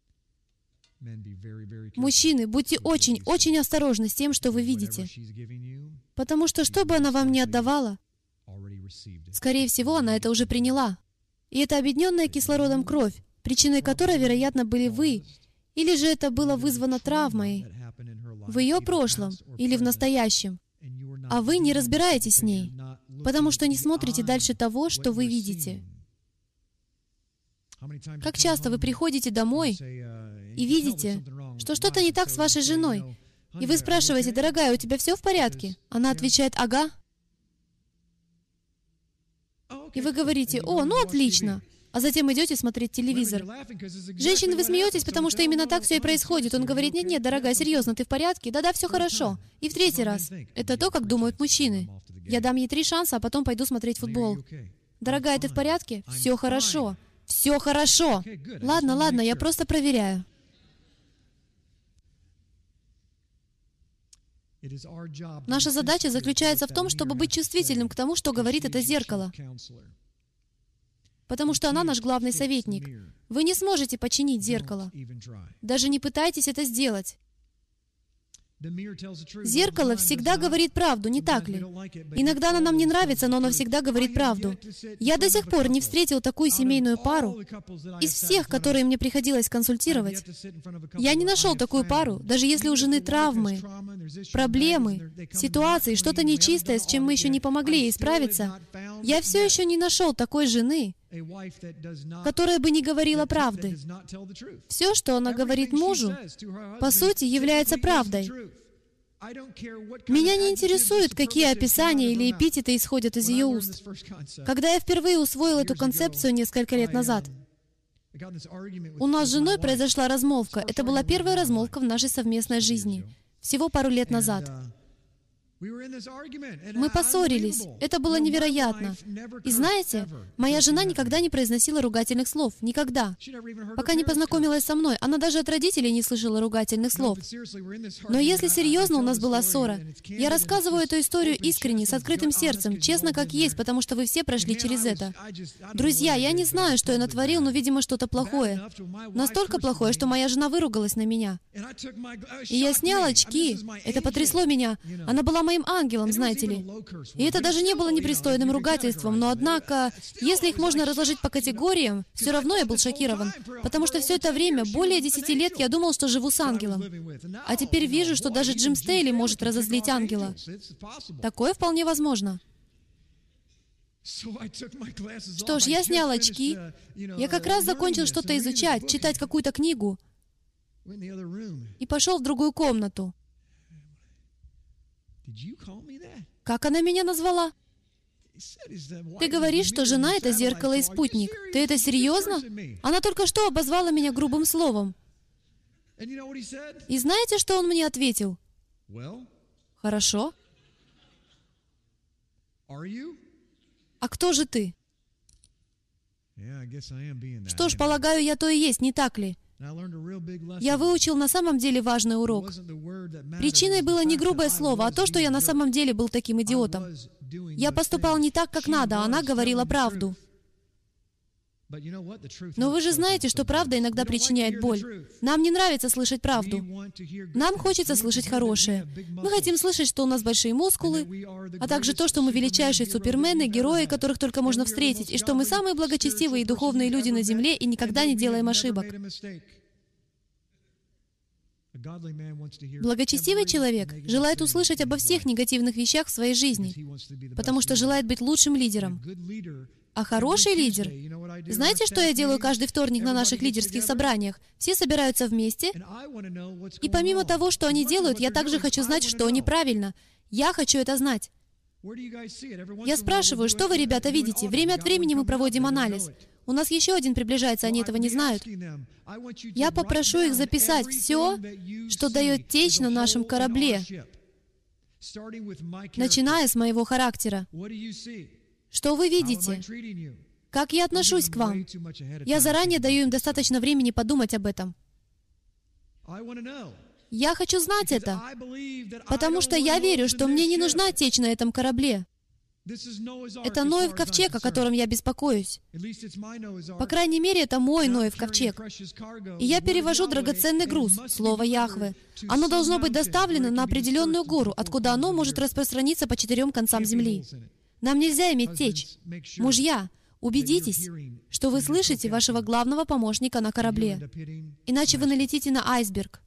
Мужчины, будьте очень-очень осторожны с тем, что вы видите. Потому что, что бы она вам ни отдавала, скорее всего, она это уже приняла. И это объединенная кислородом кровь, причиной которой, вероятно, были вы, или же это было вызвано травмой в ее прошлом или в настоящем, а вы не разбираетесь с ней, потому что не смотрите дальше того, что вы видите. Как часто вы приходите домой и видите, что что-то не так с вашей женой, и вы спрашиваете, дорогая, у тебя все в порядке? Она отвечает, ага. И вы говорите, о, ну отлично. А затем идете смотреть телевизор. Женщины, вы смеетесь, потому что именно так все и происходит. Он говорит, нет-нет, дорогая, серьезно, ты в порядке? Да-да, все хорошо. И в третий раз. Это то, как думают мужчины. Я дам ей три шанса, а потом пойду смотреть футбол. Дорогая, ты в порядке? Все хорошо. Все хорошо. Ладно, ладно, я просто проверяю. Наша задача заключается в том, чтобы быть чувствительным к тому, что говорит это зеркало. Потому что она наш главный советник. Вы не сможете починить зеркало. Даже не пытайтесь это сделать. Зеркало всегда говорит правду, не так ли? Иногда оно нам не нравится, но оно всегда говорит правду. Я до сих пор не встретил такую семейную пару из всех, которые мне приходилось консультировать. Я не нашел такую пару, даже если у жены травмы, проблемы, ситуации, что-то нечистое, с чем мы еще не помогли ей справиться. Я все еще не нашел такой жены, которая бы не говорила правды. Все, что она говорит мужу, по сути, является правдой. Меня не интересует, какие описания или эпитеты исходят из ее уст. Когда я впервые усвоил эту концепцию несколько лет назад, у нас с женой произошла размолвка. Это была первая размолвка в нашей совместной жизни. Всего пару лет назад. Мы поссорились. Это было невероятно. И знаете, моя жена никогда не произносила ругательных слов. Никогда. Пока не познакомилась со мной, она даже от родителей не слышала ругательных слов. Но если серьезно, у нас была ссора. Я рассказываю эту историю искренне, с открытым сердцем, честно как есть, потому что вы все прошли через это. Друзья, я не знаю, что я натворил, но, видимо, что-то плохое. Настолько плохое, что моя жена выругалась на меня. И я снял очки. Это потрясло меня. Она была моим ангелом, знаете ли. И это даже не было непристойным ругательством, но однако, если их можно разложить по категориям, все равно я был шокирован, потому что все это время, более десяти лет, я думал, что живу с ангелом. А теперь вижу, что даже Джим Стейли может разозлить ангела. Такое вполне возможно. Что ж, я снял очки. Я как раз закончил что-то изучать, читать какую-то книгу, и пошел в другую комнату. Как она меня назвала? Ты говоришь, что жена — это зеркало и спутник. Ты это серьезно? Она только что обозвала меня грубым словом. И знаете, что он мне ответил? Хорошо. А кто же ты? Что ж, полагаю, я то и есть, не так ли? Я выучил на самом деле важный урок. Причиной было не грубое слово, а то, что я на самом деле был таким идиотом. Я поступал не так, как надо, а она говорила правду. Но вы же знаете, что правда иногда причиняет боль. Нам не нравится слышать правду. Нам хочется слышать хорошее. Мы хотим слышать, что у нас большие мускулы, а также то, что мы величайшие супермены, герои, которых только можно встретить, и что мы самые благочестивые и духовные люди на земле и никогда не делаем ошибок. Благочестивый человек желает услышать обо всех негативных вещах в своей жизни, потому что желает быть лучшим лидером. А хороший лидер... Знаете, что я делаю каждый вторник на наших лидерских собраниях? Все собираются вместе, и помимо того, что они делают, я также хочу знать, что неправильно. Я хочу это знать. Я спрашиваю, что вы, ребята, видите? Время от времени мы проводим анализ. У нас еще один приближается, они этого не знают. Я попрошу их записать все, что дает течь на нашем корабле, начиная с моего характера. Что вы видите? Как я отношусь к вам? Я заранее даю им достаточно времени подумать об этом. Я хочу знать это, потому что я верю, что мне не нужна течь на этом корабле. Это Ноев ковчег, о котором я беспокоюсь. По крайней мере, это мой Ноев ковчег. И я перевожу драгоценный груз, слово Яхве. Оно должно быть доставлено на определенную гору, откуда оно может распространиться по четырем концам земли. Нам нельзя иметь течь. Мужья, убедитесь, что вы слышите вашего главного помощника на корабле. Иначе вы налетите на айсберг.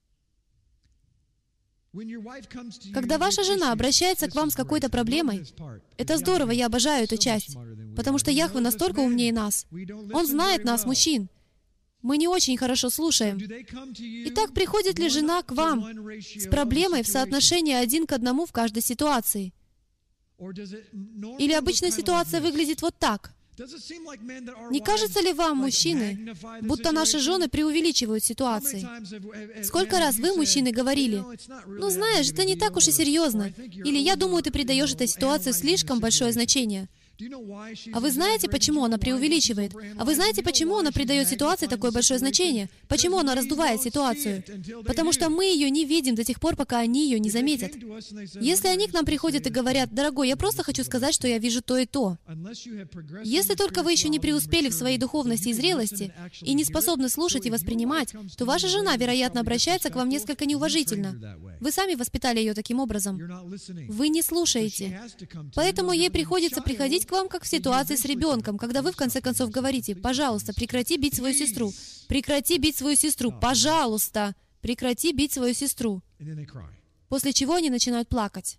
Когда ваша жена обращается к вам с какой-то проблемой, это здорово, я обожаю эту часть, потому что Яхве настолько умнее нас. Он знает нас, мужчин. Мы не очень хорошо слушаем. Итак, приходит ли жена к вам с проблемой в соотношении один к одному в каждой ситуации? Или обычно ситуация выглядит вот так? Не кажется ли вам, мужчины, будто наши жены преувеличивают ситуации? Сколько раз вы, мужчины, говорили: «Ну, знаешь, это не так уж и серьезно», или «Я думаю, ты придаешь этой ситуации слишком большое значение». А вы знаете, почему она преувеличивает? А вы знаете, почему она придает ситуации такое большое значение? Почему она раздувает ситуацию? Потому что мы ее не видим до тех пор, пока они ее не заметят. Если они к нам приходят и говорят: «Дорогой, я просто хочу сказать, что я вижу то и то». Если только вы еще не преуспели в своей духовности и зрелости и не способны слушать и воспринимать, то ваша жена, вероятно, обращается к вам несколько неуважительно. Вы сами воспитали ее таким образом. Вы не слушаете. Поэтому ей приходится приходить к вам, как в ситуации с ребенком, когда вы в конце концов говорите: «Пожалуйста, прекрати бить свою сестру. Прекрати бить свою сестру. Пожалуйста, прекрати бить свою сестру». После чего они начинают плакать.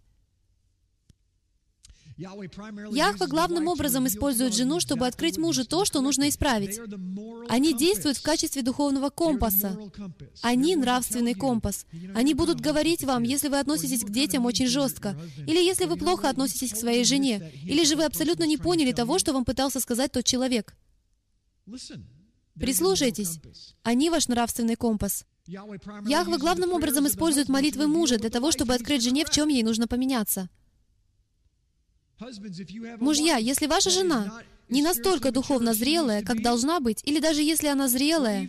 Яхве главным образом использует жену, чтобы открыть мужу то, что нужно исправить. Они действуют в качестве духовного компаса. Они нравственный компас. Они будут говорить вам, если вы относитесь к детям очень жестко, или если вы плохо относитесь к своей жене, или же вы абсолютно не поняли того, что вам пытался сказать тот человек. Прислушайтесь. Они ваш нравственный компас. Яхве главным образом использует молитвы мужа для того, чтобы открыть жене, в чем ей нужно поменяться. Мужья, если ваша жена не настолько духовно зрелая, как должна быть, или даже если она зрелая,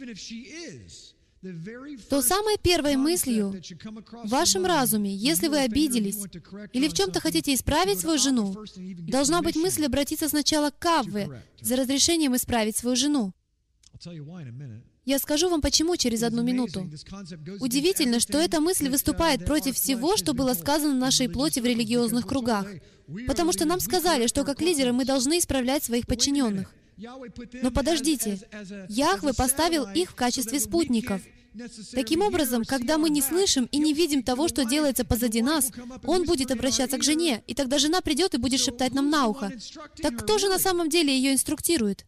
то самой первой мыслью в вашем разуме, если вы обиделись или в чем-то хотите исправить свою жену, должна быть мысль обратиться сначала к Яхве за разрешением исправить свою жену. Я скажу вам почему через одну минуту. Удивительно, что эта мысль выступает против всего, что было сказано нашей плоти в религиозных кругах. Потому что нам сказали, что как лидеры мы должны исправлять своих подчиненных. Но подождите, Яхве поставил их в качестве спутников. Таким образом, когда мы не слышим и не видим того, что делается позади нас, Он будет обращаться к жене, и тогда жена придет и будет шептать нам на ухо. Так кто же на самом деле ее инструктирует?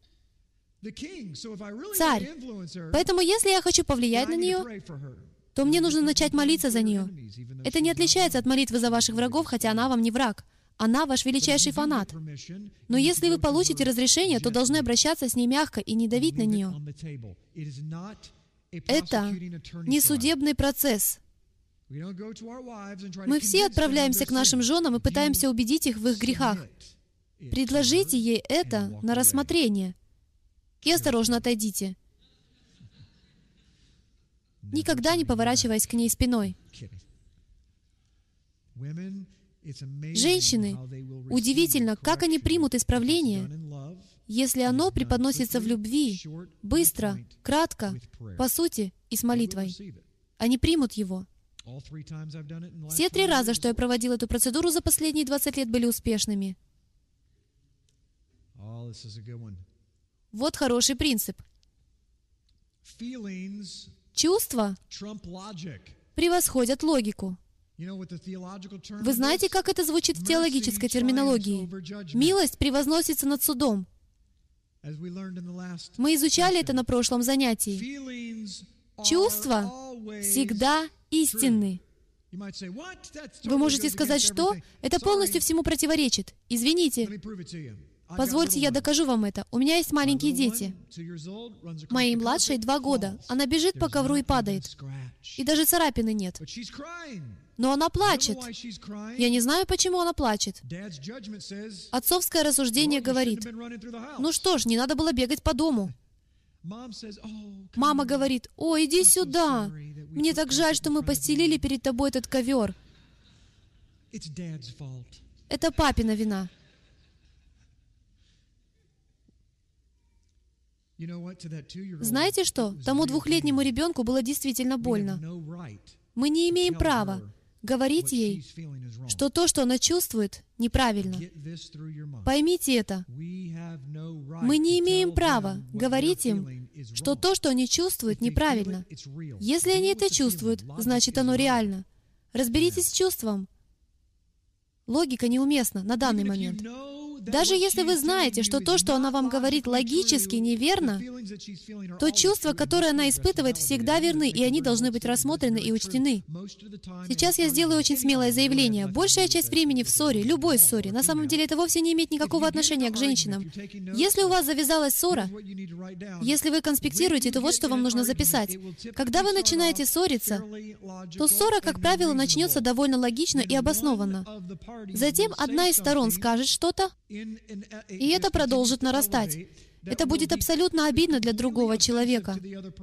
Царь. Поэтому, если я хочу повлиять на нее, то мне нужно начать молиться за нее. Это не отличается от молитвы за ваших врагов, хотя она вам не враг. Она ваш величайший фанат. Но если вы получите разрешение, то должны обращаться с ней мягко и не давить на нее. Это не судебный процесс. Мы все отправляемся к нашим женам и пытаемся убедить их в их грехах. Предложите ей это на рассмотрение. И осторожно отойдите. Никогда не поворачиваясь к ней спиной. Женщины, удивительно, как они примут исправление, если оно преподносится в любви, быстро, кратко, по сути и с молитвой. Они примут его. Все три раза, что я проводил эту процедуру за последние двадцать лет, были успешными. Вот хороший принцип. Чувства превосходят логику. Вы знаете, как это звучит в теологической терминологии? Милость превозносится над судом. Мы изучали это на прошлом занятии. Чувства всегда истинны. Вы можете сказать, что? Это полностью всему противоречит. Извините. Позвольте, я докажу вам это. У меня есть маленькие дети. Моей младшей два года. Она бежит по ковру и падает. И даже царапины нет. Но она плачет. Я не знаю, почему она плачет. Отцовское рассуждение говорит: ну что ж, не надо было бегать по дому. Мама говорит: о, иди сюда. Мне так жаль, что мы постелили перед тобой этот ковер. Это папина вина. Знаете что? Тому двухлетнему ребенку было действительно больно. Мы не имеем права говорить ей, что то, что она чувствует, неправильно. Поймите это. Мы не имеем права говорить им, что то, что они чувствуют, неправильно. Если они это чувствуют, значит, оно реально. Разберитесь с чувством. Логика неуместна на данный момент. Даже если вы знаете, что то, что она вам говорит, логически неверно, то чувства, которые она испытывает, всегда верны, и они должны быть рассмотрены и учтены. Сейчас я сделаю очень смелое заявление. Большая часть времени в ссоре, любой ссоре, на самом деле это вовсе не имеет никакого отношения к женщинам. Если у вас завязалась ссора, если вы конспектируете, то вот что вам нужно записать. Когда вы начинаете ссориться, то ссора, как правило, начнется довольно логично и обоснованно. Затем одна из сторон скажет что-то, и это продолжит нарастать. Это будет абсолютно обидно для другого человека.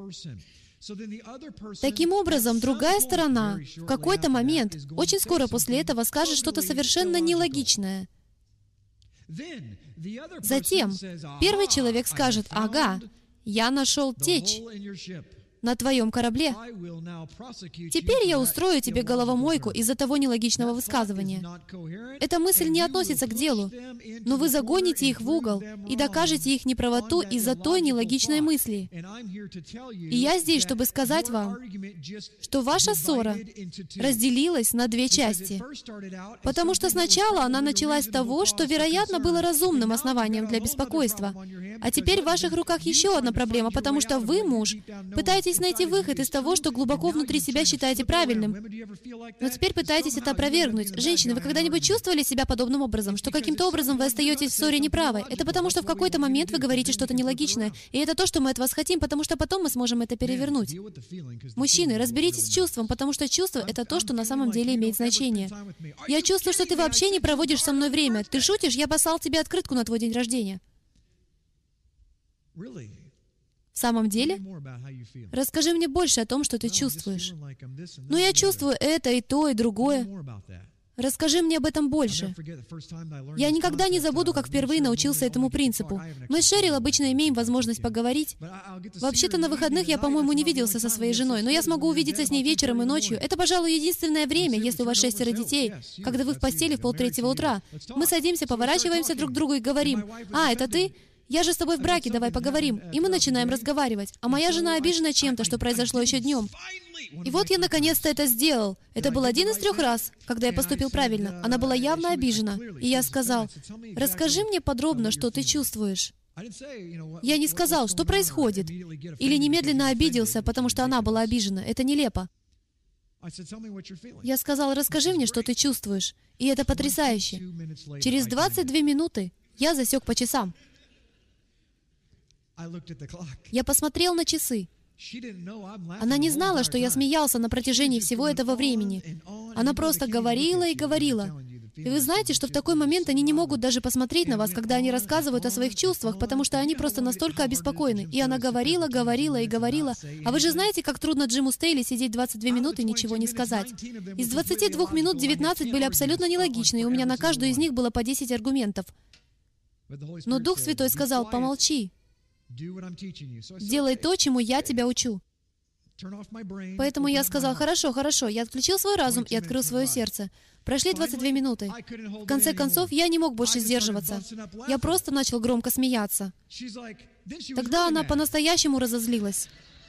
Таким образом, другая сторона в какой-то момент, очень скоро после этого, скажет что-то совершенно нелогичное. Затем первый человек скажет: «Ага, я нашел течь на твоем корабле. Теперь я устрою тебе головомойку из-за того нелогичного высказывания». Эта мысль не относится к делу, но вы загоните их в угол и докажете их неправоту из-за той нелогичной мысли. И я здесь, чтобы сказать вам, что ваша ссора разделилась на две части, потому что сначала она началась с того, что, вероятно, было разумным основанием для беспокойства, а теперь в ваших руках еще одна проблема, потому что вы, муж, пытаетесь найти выход из того, что глубоко внутри себя считаете правильным. Но теперь пытаетесь это опровергнуть. Женщины, вы когда-нибудь чувствовали себя подобным образом, что каким-то образом вы остаетесь в ссоре неправы? Это потому, что в какой-то момент вы говорите что-то нелогичное, и это то, что мы от вас хотим, потому что потом мы сможем это перевернуть. Мужчины, разберитесь с чувством, потому что чувство — это то, что на самом деле имеет значение. Я чувствую, что ты вообще не проводишь со мной время. Ты шутишь? Я послал тебе открытку на твой день рождения. В самом деле? Расскажи мне больше о том, что ты чувствуешь. Ну, я чувствую это, и то, и другое. Расскажи мне об этом больше. Я никогда не забуду, как впервые научился этому принципу. Мы с Шерил обычно имеем возможность поговорить. Вообще-то на выходных я, по-моему, не виделся со своей женой, но я смогу увидеться с ней вечером и ночью. Это, пожалуй, единственное время, если у вас шестеро детей, когда вы в постели в полтретьего утра. Мы садимся, поворачиваемся друг к другу и говорим: «А, это ты? Я же с тобой в браке, давай поговорим». И мы начинаем разговаривать. А моя жена обижена чем-то, что произошло еще днем. И вот я наконец-то это сделал. Это был один из трех раз, когда я поступил правильно. Она была явно обижена. И я сказал: «Расскажи мне подробно, что ты чувствуешь». Я не сказал, что происходит. Или немедленно обиделся, потому что она была обижена. Это нелепо. Я сказал: «Расскажи мне, что ты чувствуешь». И это потрясающе. Через двадцать две минуты я засек по часам. Я посмотрел на часы. Она не знала, что я смеялся на протяжении всего этого времени. Она просто говорила и говорила. И вы знаете, что в такой момент они не могут даже посмотреть на вас, когда они рассказывают о своих чувствах, потому что они просто настолько обеспокоены. И она говорила, говорила и говорила. А вы же знаете, как трудно Джиму Стейли сидеть двадцать две минуты и ничего не сказать. Из двадцати двух минут девятнадцать были абсолютно нелогичны, и у меня на каждую из них было по десять аргументов. Но Дух Святой сказал: «Помолчи. Делай то, чему я тебя учу». Поэтому я сказал: «Хорошо, хорошо». Я отключил свой разум и открыл свое сердце. Прошли двадцать две минуты. В конце концов, я не мог больше сдерживаться. Я просто начал громко смеяться. Тогда она по-настоящему разозлилась.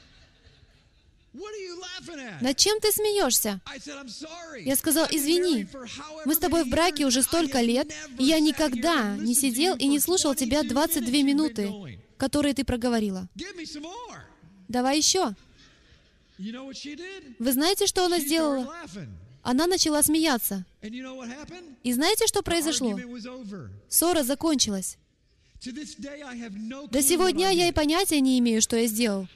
«Над чем ты смеешься?» Я сказал: «Извини, мы с тобой в браке уже столько лет, и я никогда не сидел и не слушал тебя двадцать две минуты, которые ты проговорила. Давай еще». Вы знаете, что она сделала? Она начала смеяться. И знаете, что произошло? Ссора закончилась. До сего дня я и понятия не имею, что я сделал.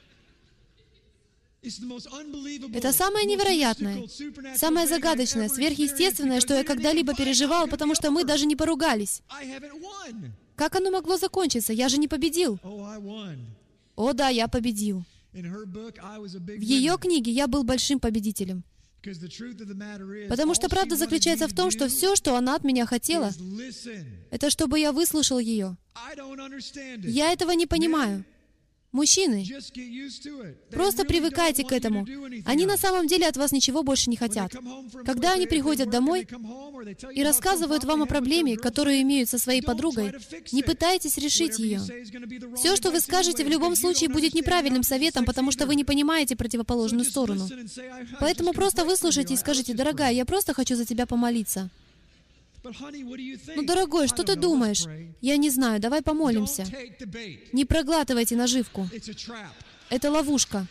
Это самое невероятное, самое загадочное, сверхъестественное, что я когда-либо переживал, потому что мы даже не поругались. Как оно могло закончиться? Я же не победил. О да, я победил. В ее книге я был большим победителем. Потому что правда заключается в том, что все, что она от меня хотела, это чтобы я выслушал ее. Я этого не понимаю. Мужчины, просто привыкайте к этому. Они на самом деле от вас ничего больше не хотят. Когда они приходят домой и рассказывают вам о проблеме, которую имеют со своей подругой, не пытайтесь решить ее. Все, что вы скажете, в любом случае будет неправильным советом, потому что вы не понимаете противоположную сторону. Поэтому просто выслушайте и скажите: «Дорогая, я просто хочу за тебя помолиться». «Ну, дорогой, что ты думаешь?» «Я не знаю, давай помолимся». Не проглатывайте наживку. Это ловушка.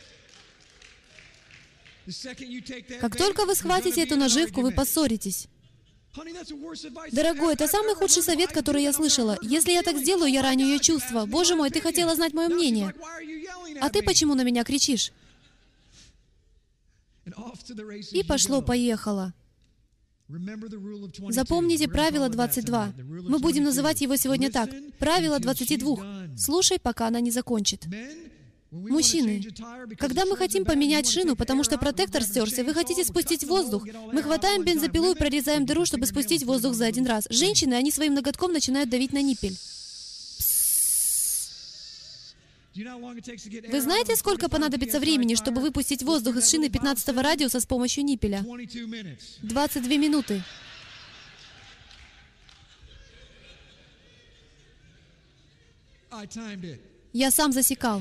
Как только вы схватите эту наживку, вы поссоритесь. «Дорогой, это самый худший совет, который я слышала. Если я так сделаю, я раню ее чувства. Боже мой, ты хотела знать мое мнение. А ты почему на меня кричишь?» И пошло-поехало. Запомните правило двадцать два. Мы будем называть его сегодня так. Правило двадцати двух. Слушай, пока она не закончит. Мужчины, когда мы хотим поменять шину, потому что протектор стерся, вы хотите спустить воздух, мы хватаем бензопилу и прорезаем дыру, чтобы спустить воздух за один раз. Женщины, они своим ноготком начинают давить на ниппель. Вы знаете, сколько понадобится времени, чтобы выпустить воздух из шины пятнадцатого радиуса с помощью ниппеля? двадцать две минуты. Я сам засекал.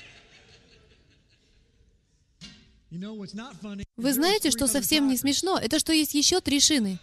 Вы знаете, что совсем не смешно? Это что есть еще три шины.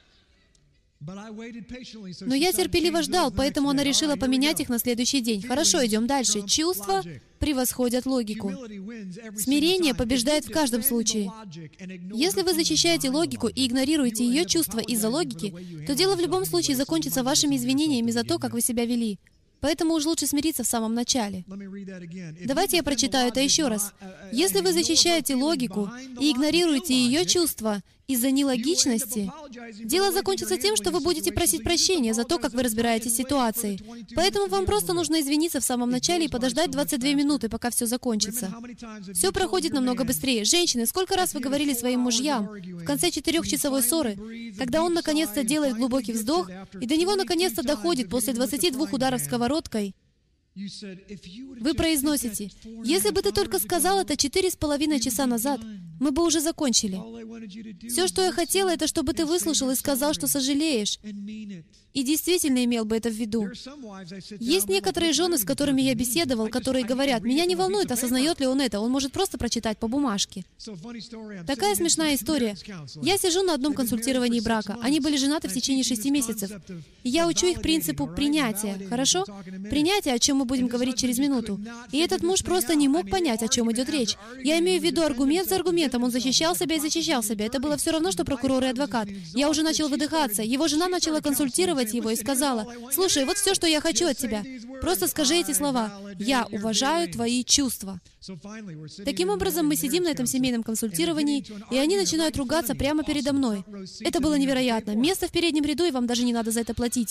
Но я терпеливо ждал, поэтому она решила поменять их на следующий день. Хорошо, идем дальше. Чувства превосходят логику. Смирение побеждает в каждом случае. Если вы защищаете логику и игнорируете ее чувства из-за логики, то дело в любом случае закончится вашими извинениями за то, как вы себя вели. Поэтому уж лучше смириться в самом начале. Давайте я прочитаю это еще раз. Если вы защищаете логику и игнорируете ее чувства из-за нелогичности, дело закончится тем, что вы будете просить прощения за то, как вы разбираетесь с ситуацией. Поэтому вам просто нужно извиниться в самом начале и подождать двадцать две минуты, пока все закончится. Все проходит намного быстрее. Женщины, сколько раз вы говорили своим мужьям в конце четырехчасовой ссоры, когда он наконец-то делает глубокий вздох, и до него наконец-то доходит после двадцати двух ударов сковородкой, вы произносите: «Если бы ты только сказал это четыре с половиной часа назад, мы бы уже закончили. Все, что я хотела, это чтобы ты выслушал и сказал, что сожалеешь, и действительно имел бы это в виду». Есть некоторые жены, с которыми я беседовал, которые говорят: «Меня не волнует, осознает ли он это, он может просто прочитать по бумажке». Такая смешная история. Я сижу на одном консультировании брака. Они были женаты в течение шести месяцев. И я учу их принципу принятия. Хорошо? Принятие, о чем мы будем говорить через минуту. И этот муж просто не мог понять, о чем идет речь. Я имею в виду аргумент за аргументом. Он защищал себя и защищал себя. Это было все равно, что прокурор и адвокат. Я уже начал выдыхаться. Его жена начала консультировать его и сказала: «Слушай, вот все, что я хочу от тебя. Просто скажи эти слова. Я уважаю твои чувства». Таким образом, мы сидим на этом семейном консультировании, и они начинают ругаться прямо передо мной. Это было невероятно. Место в переднем ряду, и вам даже не надо за это платить.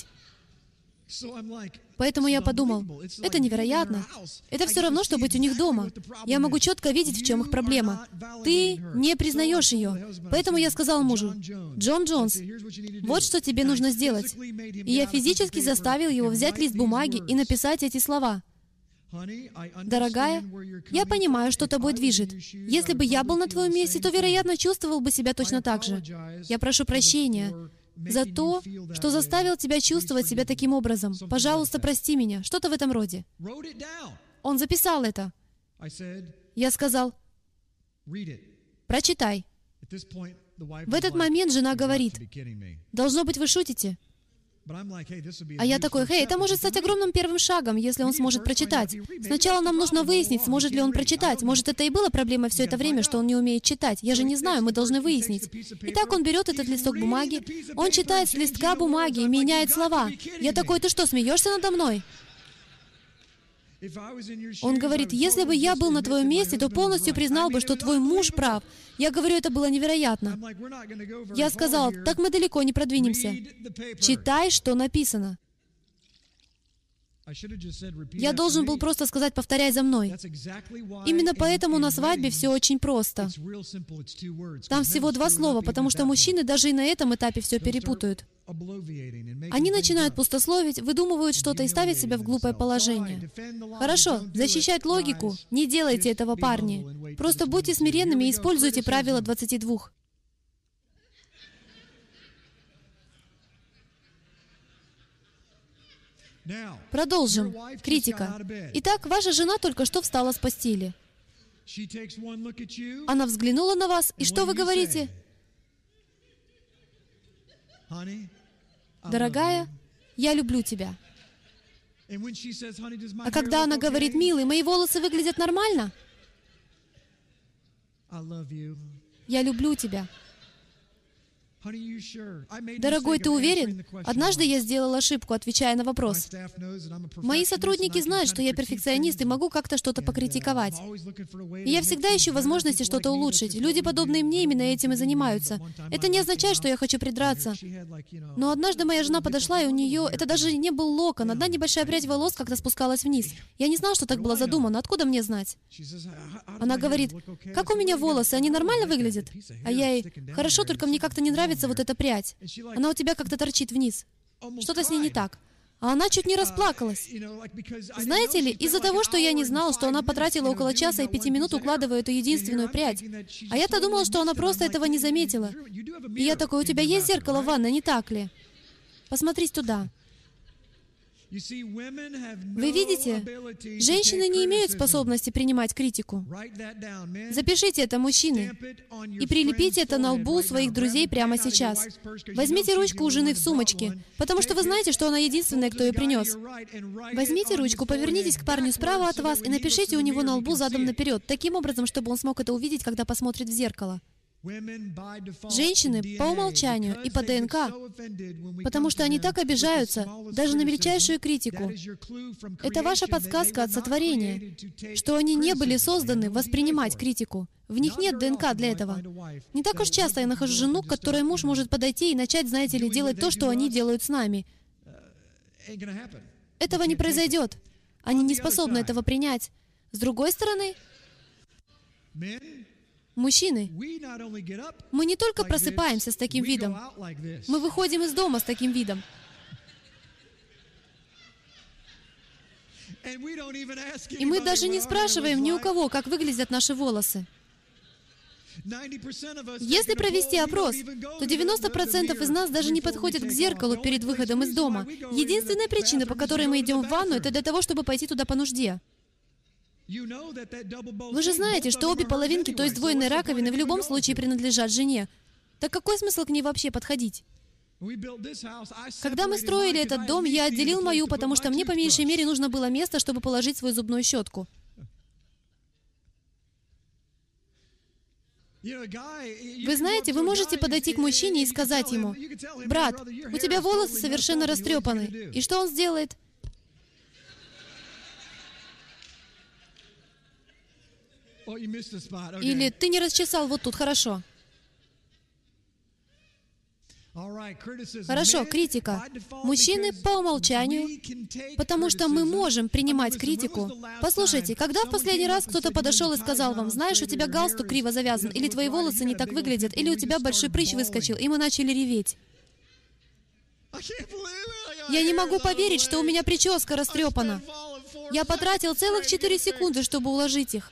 Поэтому я подумал, это невероятно. Это все равно, что быть у них дома. Я могу четко видеть, в чем их проблема. Ты не признаешь ее. Поэтому я сказал мужу: «Джон Джонс, вот что тебе нужно сделать». И я физически заставил его взять лист бумаги и написать эти слова. «Дорогая, я понимаю, что тобой движет. Если бы я был на твоем месте, то, вероятно, чувствовал бы себя точно так же. Я прошу прощения за то, что заставил тебя чувствовать себя таким образом. Пожалуйста, прости меня». Что-то в этом роде. Он записал это. Я сказал: «Прочитай». В этот момент жена говорит: «Должно быть, вы шутите». А я такой: «Хей, это может стать огромным первым шагом, если он сможет прочитать. Сначала нам нужно выяснить, сможет ли он прочитать. Может, это и было проблемой все это время, что он не умеет читать. Я же не знаю, мы должны выяснить». Итак, он берет этот листок бумаги, он читает с листка бумаги и меняет слова. Я такой: «Ты что, смеешься надо мной?» Он говорит: «Если бы я был на твоем месте, то полностью признал бы, что твой муж прав». Я говорю, это было невероятно. Я сказал: «Так мы далеко не продвинемся. Читай, что написано». Я должен был просто сказать: «Повторяй за мной». Именно поэтому на свадьбе все очень просто. Там всего два слова, потому что мужчины даже и на этом этапе все перепутают. Они начинают пустословить, выдумывают что-то и ставят себя в глупое положение. Хорошо, защищать логику. Не делайте этого, парни. Просто будьте смиренными и используйте правило двадцати двух. Продолжим. Критика. Итак, ваша жена только что встала с постели. Она взглянула на вас, и что вы говорите? «Дорогая, я люблю тебя». А когда она говорит: «Милый, мои волосы выглядят нормально», «Я люблю тебя». Дорогой, ты уверен? Однажды я сделал ошибку, отвечая на вопрос. Мои сотрудники знают, что я перфекционист и могу как-то что-то покритиковать. И я всегда ищу возможности что-то улучшить. Люди, подобные мне, именно этим и занимаются. Это не означает, что я хочу придраться. Но однажды моя жена подошла, и у нее... Это даже не был локон. Одна небольшая прядь волос как-то спускалась вниз. Я не знал, что так было задумано. Откуда мне знать? Она говорит: «Как у меня волосы? Они нормально выглядят?» А я ей: «Хорошо, только мне как-то не нравится вот эта прядь. Она у тебя как-то торчит вниз. Что-то с ней не так». А она чуть не расплакалась. Знаете ли, из-за того, что я не знал, что она потратила около часа и пяти минут, укладывая эту единственную прядь. А я-то думал, что она просто этого не заметила. И я такой: «У тебя есть зеркало в ванной, не так ли? Посмотрите туда». Вы видите, женщины не имеют способности принимать критику. Запишите это, мужчины, и прилепите это на лбу своих друзей прямо сейчас. Возьмите ручку у жены в сумочке, потому что вы знаете, что она единственная, кто ее принес. Возьмите ручку, повернитесь к парню справа от вас и напишите у него на лбу задом наперед, таким образом, чтобы он смог это увидеть, когда посмотрит в зеркало. Женщины по умолчанию и по ДНК, потому что они так обижаются даже на мельчайшую критику. Это ваша подсказка от сотворения, что они не были созданы воспринимать критику. В них нет ДНК для этого. Не так уж часто я нахожу жену, к которой муж может подойти и начать, знаете ли, делать то, что они делают с нами. Этого не произойдет. Они не способны этого принять. С другой стороны, мужчины, мы не только просыпаемся с таким видом, мы выходим из дома с таким видом. И мы даже не спрашиваем ни у кого, как выглядят наши волосы. Если провести опрос, то девяносто процентов из нас даже не подходят к зеркалу перед выходом из дома. Единственная причина, по которой мы идем в ванну, это для того, чтобы пойти туда по нужде. Вы же знаете, что обе половинки той сдвоенной раковины в любом случае принадлежат жене. Так какой смысл к ней вообще подходить? Когда мы строили этот дом, я отделил мою, потому что мне по меньшей мере нужно было место, чтобы положить свою зубную щетку. Вы знаете, вы можете подойти к мужчине и сказать ему: «Брат, у тебя волосы совершенно растрепаны». И что он сделает? Или «Ты не расчесал вот тут, хорошо». Хорошо, критика. Мужчины по умолчанию, потому что мы можем принимать критику. Послушайте, когда в последний раз кто-то подошел и сказал вам: «Знаешь, у тебя галстук криво завязан», или «Твои волосы не так выглядят», или «У тебя большой прыщ выскочил», и мы начали реветь. Я не могу поверить, что у меня прическа растрепана. Я потратил целых четыре секунды, чтобы уложить их.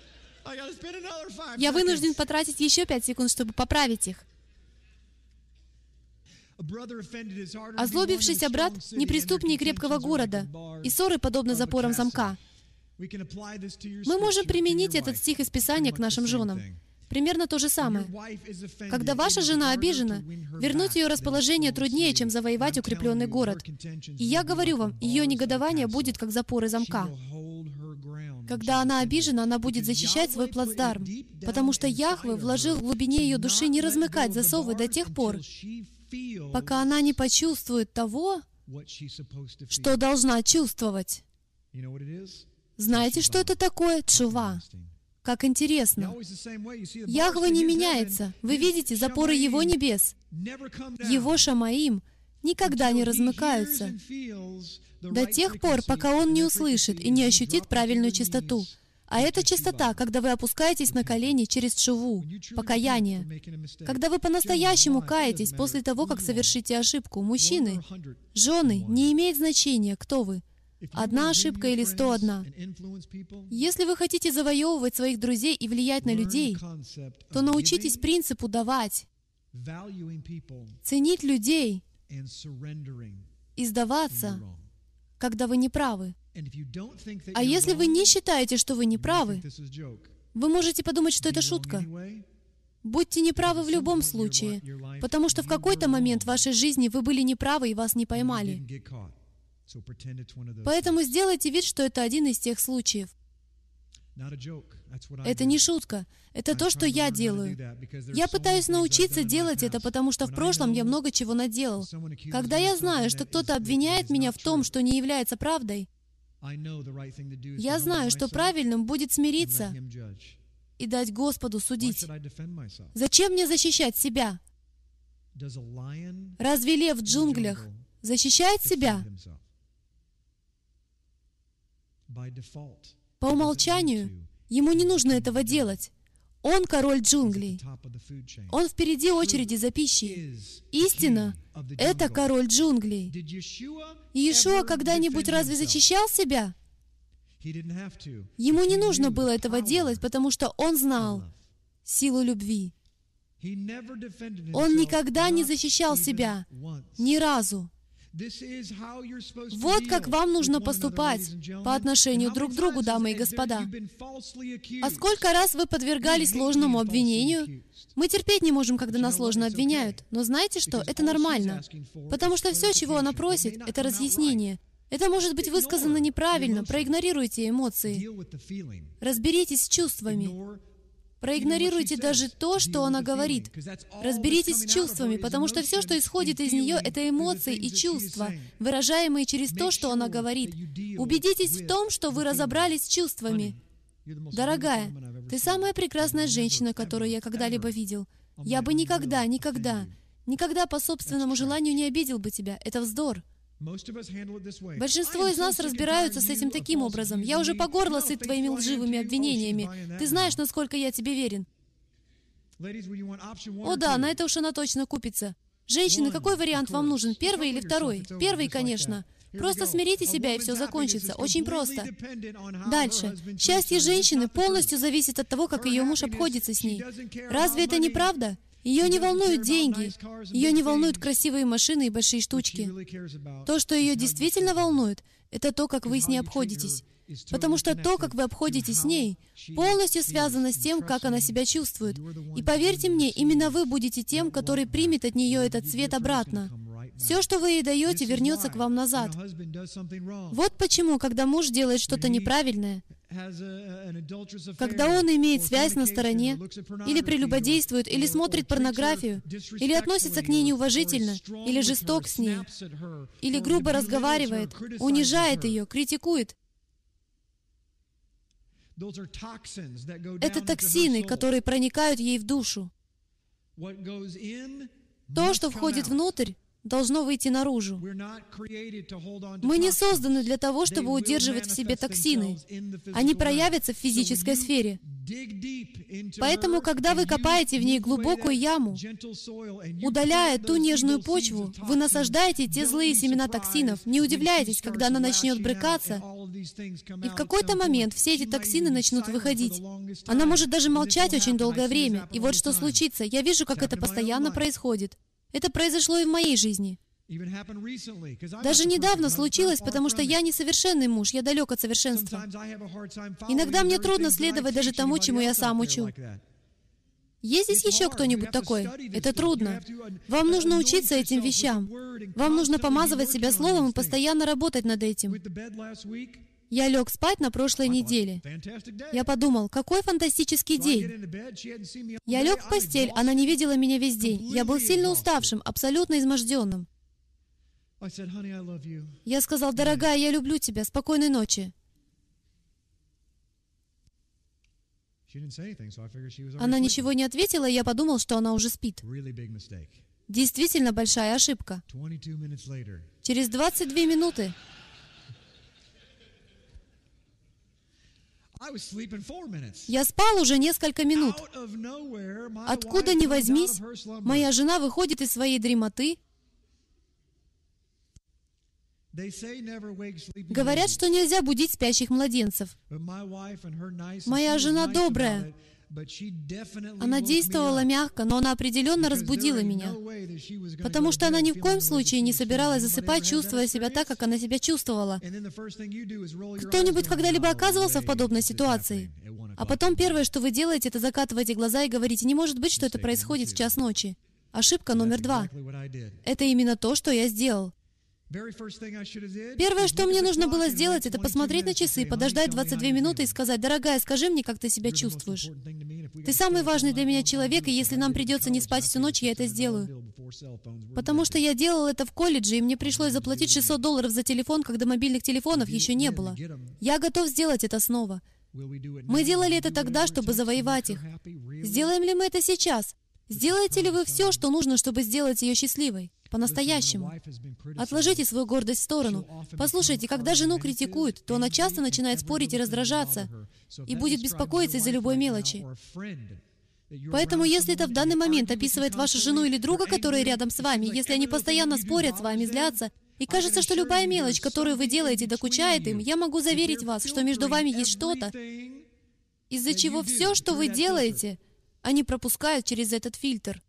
Я вынужден потратить еще пять секунд, чтобы поправить их. Озлобившийся брат не преступнее крепкого города, и ссоры подобны запорам замка. Мы можем применить этот стих из Писания к нашим женам. Примерно то же самое. Когда ваша жена обижена, вернуть ее расположение труднее, чем завоевать укрепленный город. И я говорю вам, ее негодование будет как запоры замка. Когда она обижена, она будет защищать свой плацдарм, потому что Яхве вложил в глубине ее души не размыкать засовы до тех пор, пока она не почувствует того, что должна чувствовать. Знаете, что это такое? Тшува. Как интересно. Яхве не меняется. Вы видите запоры Его небес. Его Шамаим никогда не размыкаются до тех пор, пока Он не услышит и не ощутит правильную чистоту. А это чистота, когда вы опускаетесь на колени через тшуву, покаяние. Когда вы по-настоящему каетесь после того, как совершите ошибку. Мужчины, жены, не имеет значения, кто вы. Одна ошибка или сто одна. Если вы хотите завоевывать своих друзей и влиять на людей, то научитесь принципу давать, ценить людей и сдаваться, когда вы не правы. А если вы не считаете, что вы не правы, вы можете подумать, что это шутка. Будьте неправы в любом случае, потому что в какой-то момент в вашей жизни вы были неправы и вас не поймали. Поэтому сделайте вид, что это один из тех случаев. Это не шутка. Это то, что я делаю. Я пытаюсь научиться делать это, потому что в прошлом я много чего наделал. Когда я знаю, что кто-то обвиняет меня в том, что не является правдой, я знаю, что правильным будет смириться и дать Господу судить. Зачем мне защищать себя? Разве лев в джунглях защищает себя? По умолчанию ему не нужно этого делать. Он король джунглей. Он впереди очереди за пищей. Истина — это король джунглей. Иешуа когда-нибудь разве защищал себя? Ему не нужно было этого делать, потому что он знал силу любви. Он никогда не защищал себя, ни разу. Вот как вам нужно поступать по отношению друг к другу, дамы и господа. А сколько раз вы подвергались ложному обвинению? Мы терпеть не можем, когда нас ложно обвиняют. Но знаете что? Это нормально. Потому что все, чего она просит, это разъяснение. Это может быть высказано неправильно. Проигнорируйте эмоции. Разберитесь с чувствами. Проигнорируйте даже то, что она говорит. Разберитесь с чувствами, потому что все, что исходит из нее, это эмоции и чувства, выражаемые через то, что она говорит. Убедитесь в том, что вы разобрались с чувствами. Дорогая, ты самая прекрасная женщина, которую я когда-либо видел. Я бы никогда, никогда, никогда по собственному желанию не обидел бы тебя. Это вздор. Большинство из нас разбираются с этим таким образом. Я уже по горло сыт твоими лживыми обвинениями. Ты знаешь, насколько я тебе верен. О да, на это уж она точно купится. Женщины, какой вариант вам нужен? Первый или второй? Первый, конечно. Просто смирите себя, и все закончится. Очень просто. Дальше. Счастье женщины полностью зависит от того, как ее муж обходится с ней. Разве это не правда? Ее не волнуют деньги, ее не волнуют красивые машины и большие штучки. То, что ее действительно волнует, это то, как вы с ней обходитесь. Потому что то, как вы обходитесь с ней, полностью связано с тем, как она себя чувствует. И поверьте мне, именно вы будете тем, который примет от нее этот свет обратно. Все, что вы ей даете, вернется к вам назад. Вот почему, когда муж делает что-то неправильное, когда он имеет связь на стороне, или прелюбодействует, или смотрит порнографию, или относится к ней неуважительно, или жесток с ней, или грубо разговаривает, унижает ее, критикует, это токсины, которые проникают ей в душу. То, что входит внутрь, должно выйти наружу. Мы не созданы для того, чтобы удерживать в себе токсины. Они проявятся в физической сфере. Поэтому, когда вы копаете в ней глубокую яму, удаляя ту нежную почву, вы насаждаете те злые семена токсинов. Не удивляйтесь, когда она начнет брыкаться, и в какой-то момент все эти токсины начнут выходить. Она может даже молчать очень долгое время. И вот что случится. Я вижу, как это постоянно происходит. Это произошло и в моей жизни. Даже недавно случилось, потому что я несовершенный муж, я далек от совершенства. Иногда мне трудно следовать даже тому, чему я сам учу. Есть здесь еще кто-нибудь такой? Это трудно. Вам нужно учиться этим вещам. Вам нужно помазывать себя словом и постоянно работать над этим. Я лег спать на прошлой неделе. Я подумал, какой фантастический день. Я лег в постель, она не видела меня весь день. Я был сильно уставшим, абсолютно изможденным. Я сказал, дорогая, я люблю тебя, спокойной ночи. Она ничего не ответила, и я подумал, что она уже спит. Действительно большая ошибка. Через двадцать две минуты я спал уже несколько минут. Откуда ни возьмись, моя жена выходит из своей дремоты. Говорят, что нельзя будить спящих младенцев. Моя жена добрая. Она действовала мягко, но она определенно разбудила меня, потому что она ни в коем случае не собиралась засыпать, чувствуя себя так, как она себя чувствовала. Кто-нибудь когда-либо оказывался в подобной ситуации? А потом первое, что вы делаете, это закатываете глаза и говорите, не может быть, что это происходит в час ночи. Ошибка номер два. Это именно то, что я сделал. Первое, что мне нужно было сделать, это посмотреть на часы, подождать двадцать две минуты и сказать, дорогая, скажи мне, как ты себя чувствуешь. Ты самый важный для меня человек, и если нам придется не спать всю ночь, я это сделаю. Потому что я делал это в колледже, и мне пришлось заплатить шестьсот долларов за телефон, когда мобильных телефонов еще не было. Я готов сделать это снова. Мы делали это тогда, чтобы завоевать их. Сделаем ли мы это сейчас? Сделаете ли вы все, что нужно, чтобы сделать ее счастливой? По-настоящему. Отложите свою гордость в сторону. Послушайте, когда жену критикуют, то она часто начинает спорить и раздражаться, и будет беспокоиться из-за любой мелочи. Поэтому, если это в данный момент описывает вашу жену или друга, которые рядом с вами, если они постоянно спорят с вами, злятся, и кажется, что любая мелочь, которую вы делаете, докучает им, я могу заверить вас, что между вами есть что-то, из-за чего все, что вы делаете, они пропускают через этот фильтр.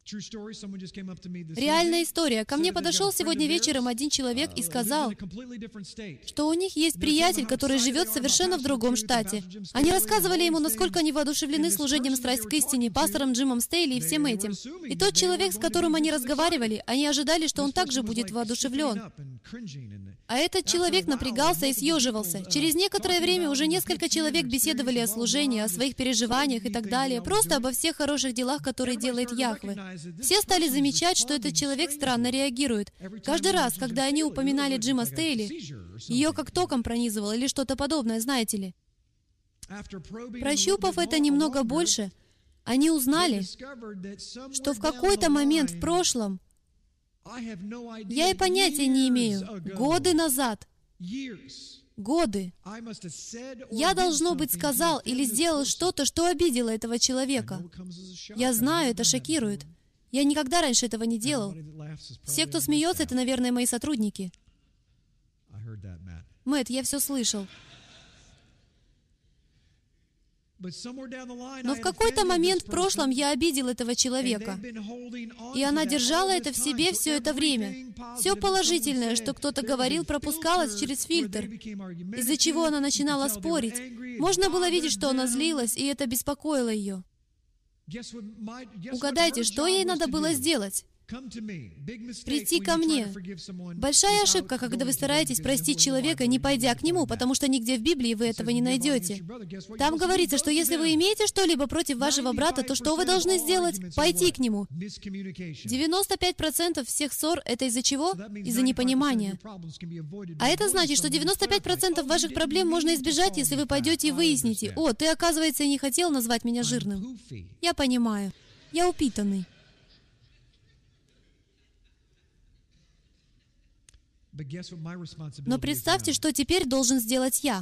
Реальная история. Ко мне подошел сегодня вечером один человек и сказал, что у них есть приятель, который живет совершенно в другом штате. Они рассказывали ему, насколько они воодушевлены служением «Страсть к истине», пастором Джимом Стейли и всем этим. И тот человек, с которым они разговаривали, они ожидали, что он также будет воодушевлен. А этот человек напрягался и съеживался. Через некоторое время уже несколько человек беседовали о служении, о своих переживаниях и так далее, просто обо всех хороших делах, которые делает Яхве. Все стали замечать, что этот человек странно реагирует. Каждый раз, когда они упоминали Джима Стейли, ее как током пронизывало или что-то подобное, знаете ли. Прощупав это немного больше, они узнали, что в какой-то момент в прошлом, я и понятия не имею, годы назад, годы, я, должно быть, сказал или сделал что-то, что обидело этого человека. Я знаю, это шокирует. Я никогда раньше этого не делал. Все, кто смеется, это, наверное, мои сотрудники. Мэтт, я все слышал. Но в какой-то момент в прошлом я обидел этого человека, и она держала это в себе все это время. Все положительное, что кто-то говорил, пропускалось через фильтр, из-за чего она начинала спорить. Можно было видеть, что она злилась, и это беспокоило ее. Угадайте, что ей надо было сделать? Прийти ко мне. Большая ошибка, когда вы стараетесь простить человека, не пойдя к нему, потому что нигде в Библии вы этого не найдете. Там говорится, что если вы имеете что-либо против вашего брата, то что вы должны сделать? Пойти к нему. девяносто пять процентов всех ссор — это из-за чего? Из-за непонимания. А это значит, что девяносто пять процентов ваших проблем можно избежать, если вы пойдете и выясните: «О, ты, оказывается, и не хотел назвать меня жирным». Я понимаю. Я упитанный. Но представьте, что теперь должен сделать я.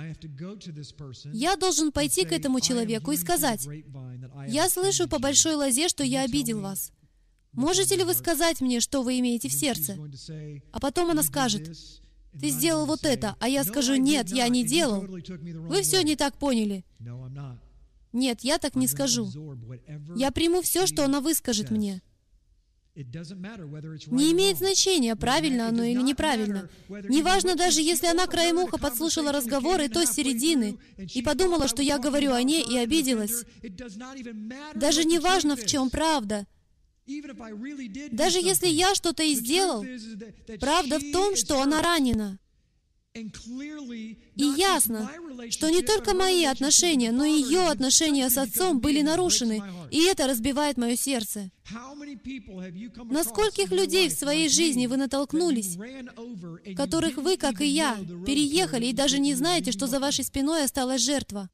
Я должен пойти к этому человеку и сказать: «Я слышу по большой лозе, что я обидел вас. Можете ли вы сказать мне, что вы имеете в сердце?» А потом она скажет: «Ты сделал вот это», а я скажу: «Нет, я не делал. Вы все не так поняли». Нет, я так не скажу. Я приму все, что она выскажет мне. Не имеет значения, правильно оно или неправильно. Неважно даже, если она краем уха подслушала разговор, и то с середины, и подумала, что я говорю о ней, и обиделась. Даже не важно, в чем правда. Даже если я что-то и сделал, правда в том, что она ранена. И ясно, что не только мои отношения, но и ее отношения с отцом были нарушены, и это разбивает мое сердце. На скольких людей в своей жизни вы натолкнулись, которых вы, как и я, переехали и даже не знаете, что за вашей спиной осталась жертва?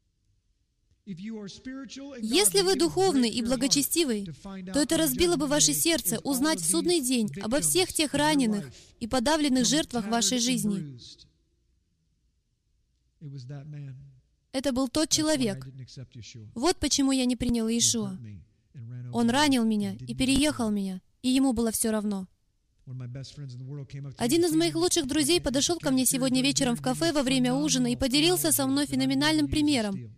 Если вы духовный и благочестивый, то это разбило бы ваше сердце узнать в судный день обо всех тех раненых и подавленных жертвах вашей жизни. Это был тот человек. Вот почему я не принял Иешуа. Он ранил меня и переехал меня, и ему было все равно. Один из моих лучших друзей подошел ко мне сегодня вечером в кафе во время ужина и поделился со мной феноменальным примером,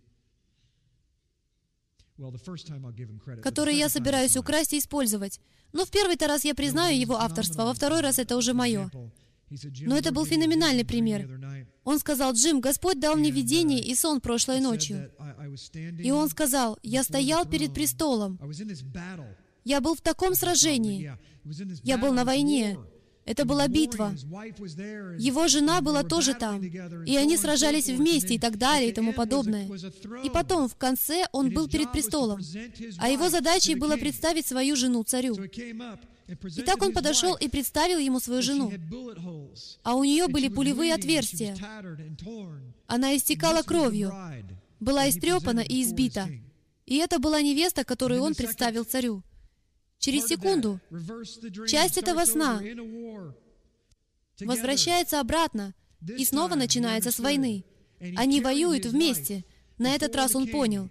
который я собираюсь украсть и использовать. Но в первый-то раз я признаю его авторство, а во второй раз это уже мое. Но это был феноменальный пример. Он сказал: «Джим, Господь дал мне видение и сон прошлой ночью». И он сказал: «Я стоял перед престолом. Я был в таком сражении. Я был на войне. Это была битва. Его жена была тоже там. И они сражались вместе и так далее и тому подобное. И потом, в конце, он был перед престолом. А его задачей было представить свою жену царю. И так он подошел и представил ему свою жену. А у нее были пулевые отверстия. Она истекала кровью, была истрепана и избита. И это была невеста, которую он представил царю. Через секунду часть этого сна возвращается обратно, и снова начинается с войны. Они воюют вместе. На этот раз он понял.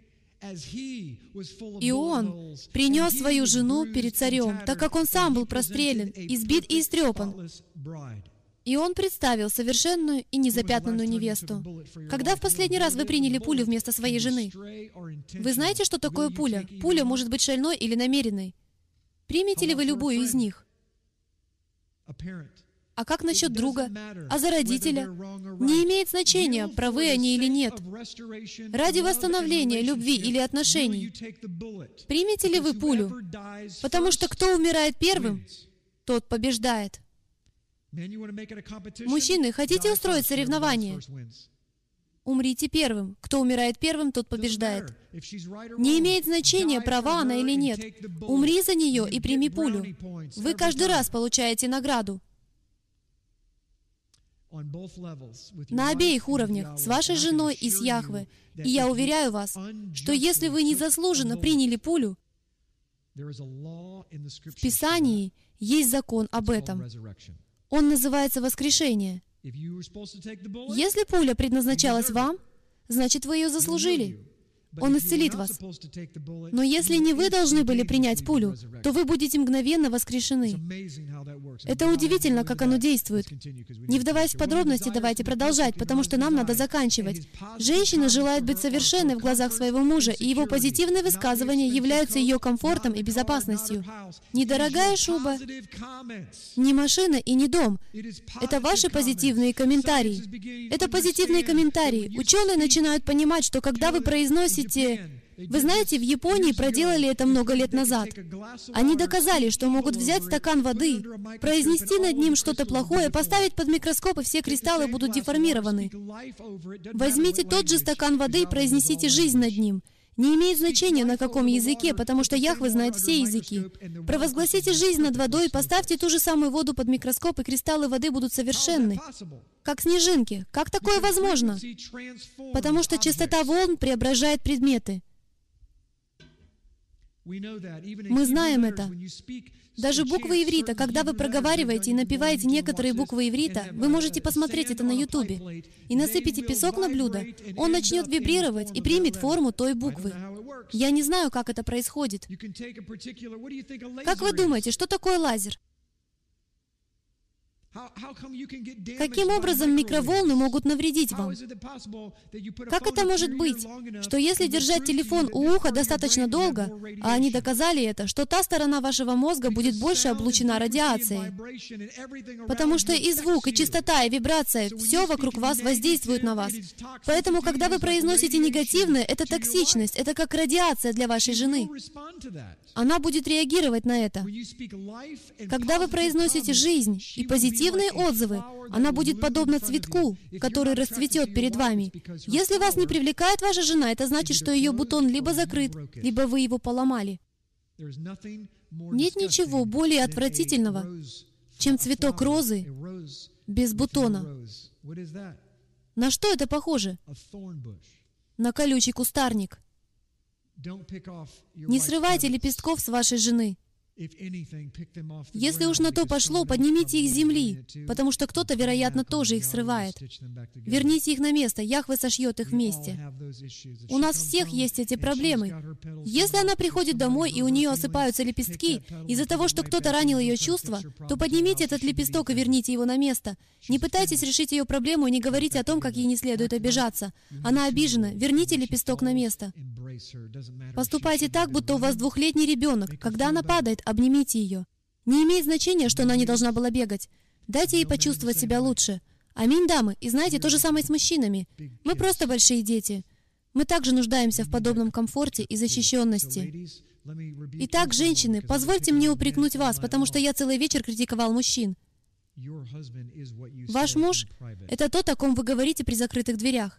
И он принес свою жену перед царем, так как он сам был прострелен, избит и истрепан. И он представил совершенную и незапятнанную невесту. Когда в последний раз вы приняли пулю вместо своей жены? Вы знаете, что такое пуля? Пуля может быть шальной или намеренной. Примете ли вы любую из них? А как насчет друга? А за родителя? Не имеет значения, правы они или нет. Ради восстановления любви или отношений. Примете ли вы пулю? Потому что кто умирает первым, тот побеждает. Мужчины, хотите устроить соревнование? Умрите первым. Кто умирает первым, тот побеждает. Не имеет значения, права она или нет. Умри за нее и прими пулю. Вы каждый раз получаете награду. На обеих уровнях, с вашей женой и с Яхве. И я уверяю вас, что если вы незаслуженно приняли пулю, в Писании есть закон об этом. Он называется воскрешение. Если пуля предназначалась вам, значит, вы ее заслужили. Он исцелит вас. Но если не вы должны были принять пулю, то вы будете мгновенно воскрешены. Это удивительно, как оно действует. Не вдаваясь в подробности, давайте продолжать, потому что нам надо заканчивать. Женщина желает быть совершенной в глазах своего мужа, и его позитивные высказывания являются ее комфортом и безопасностью. Не дорогая шуба, не машина и не дом. Это ваши позитивные комментарии. Это позитивные комментарии. Ученые начинают понимать, что когда вы произносите Вы знаете, в Японии проделали это много лет назад. Они доказали, что могут взять стакан воды, произнести над ним что-то плохое, поставить под микроскоп, и все кристаллы будут деформированы. Возьмите тот же стакан воды и произнесите жизнь над ним. Не имеет значения, на каком языке, потому что Яхве знает все языки. Провозгласите жизнь над водой, поставьте ту же самую воду под микроскоп, и кристаллы воды будут совершенны. Как снежинки. Как такое возможно? Потому что частота волн преображает предметы. Мы знаем это. Даже буквы иврита, когда вы проговариваете и напеваете некоторые буквы иврита, вы можете посмотреть это на Ютубе, и насыпите песок на блюдо, он начнет вибрировать и примет форму той буквы. Я не знаю, как это происходит. Как вы думаете, что такое лазер? Каким образом микроволны могут навредить вам? Как это может быть, что если держать телефон у уха достаточно долго, а они доказали это, что та сторона вашего мозга будет больше облучена радиацией? Потому что и звук, и частота, и вибрация, все вокруг вас воздействует на вас. Поэтому, когда вы произносите негативное, это токсичность, это как радиация для вашей жены. Она будет реагировать на это. Когда вы произносите жизнь и позитивность, отзывы, она будет подобна цветку, который расцветет перед вами. Если вас не привлекает ваша жена, это значит, что ее бутон либо закрыт, либо вы его поломали. Нет ничего более отвратительного, чем цветок розы без бутона. На что это похоже? На колючий кустарник. Не срывайте лепестков с вашей жены. Если уж на то пошло, поднимите их с земли, потому что кто-то, вероятно, тоже их срывает. Верните их на место, Яхве сошьет их вместе. У нас всех есть эти проблемы. Если она приходит домой, и у нее осыпаются лепестки, из-за того, что кто-то ранил ее чувства, то поднимите этот лепесток и верните его на место. Не пытайтесь решить ее проблему и не говорите о том, как ей не следует обижаться. Она обижена, верните лепесток на место. Поступайте так, будто у вас двухлетний ребенок. Когда она падает, обнимите ее. Не имеет значения, что она не должна была бегать. Дайте ей почувствовать себя лучше. Аминь, дамы. И знаете, то же самое с мужчинами. Мы просто большие дети. Мы также нуждаемся в подобном комфорте и защищенности. Итак, женщины, позвольте мне упрекнуть вас, потому что я целый вечер критиковал мужчин. Ваш муж — это тот, о ком вы говорите при закрытых дверях.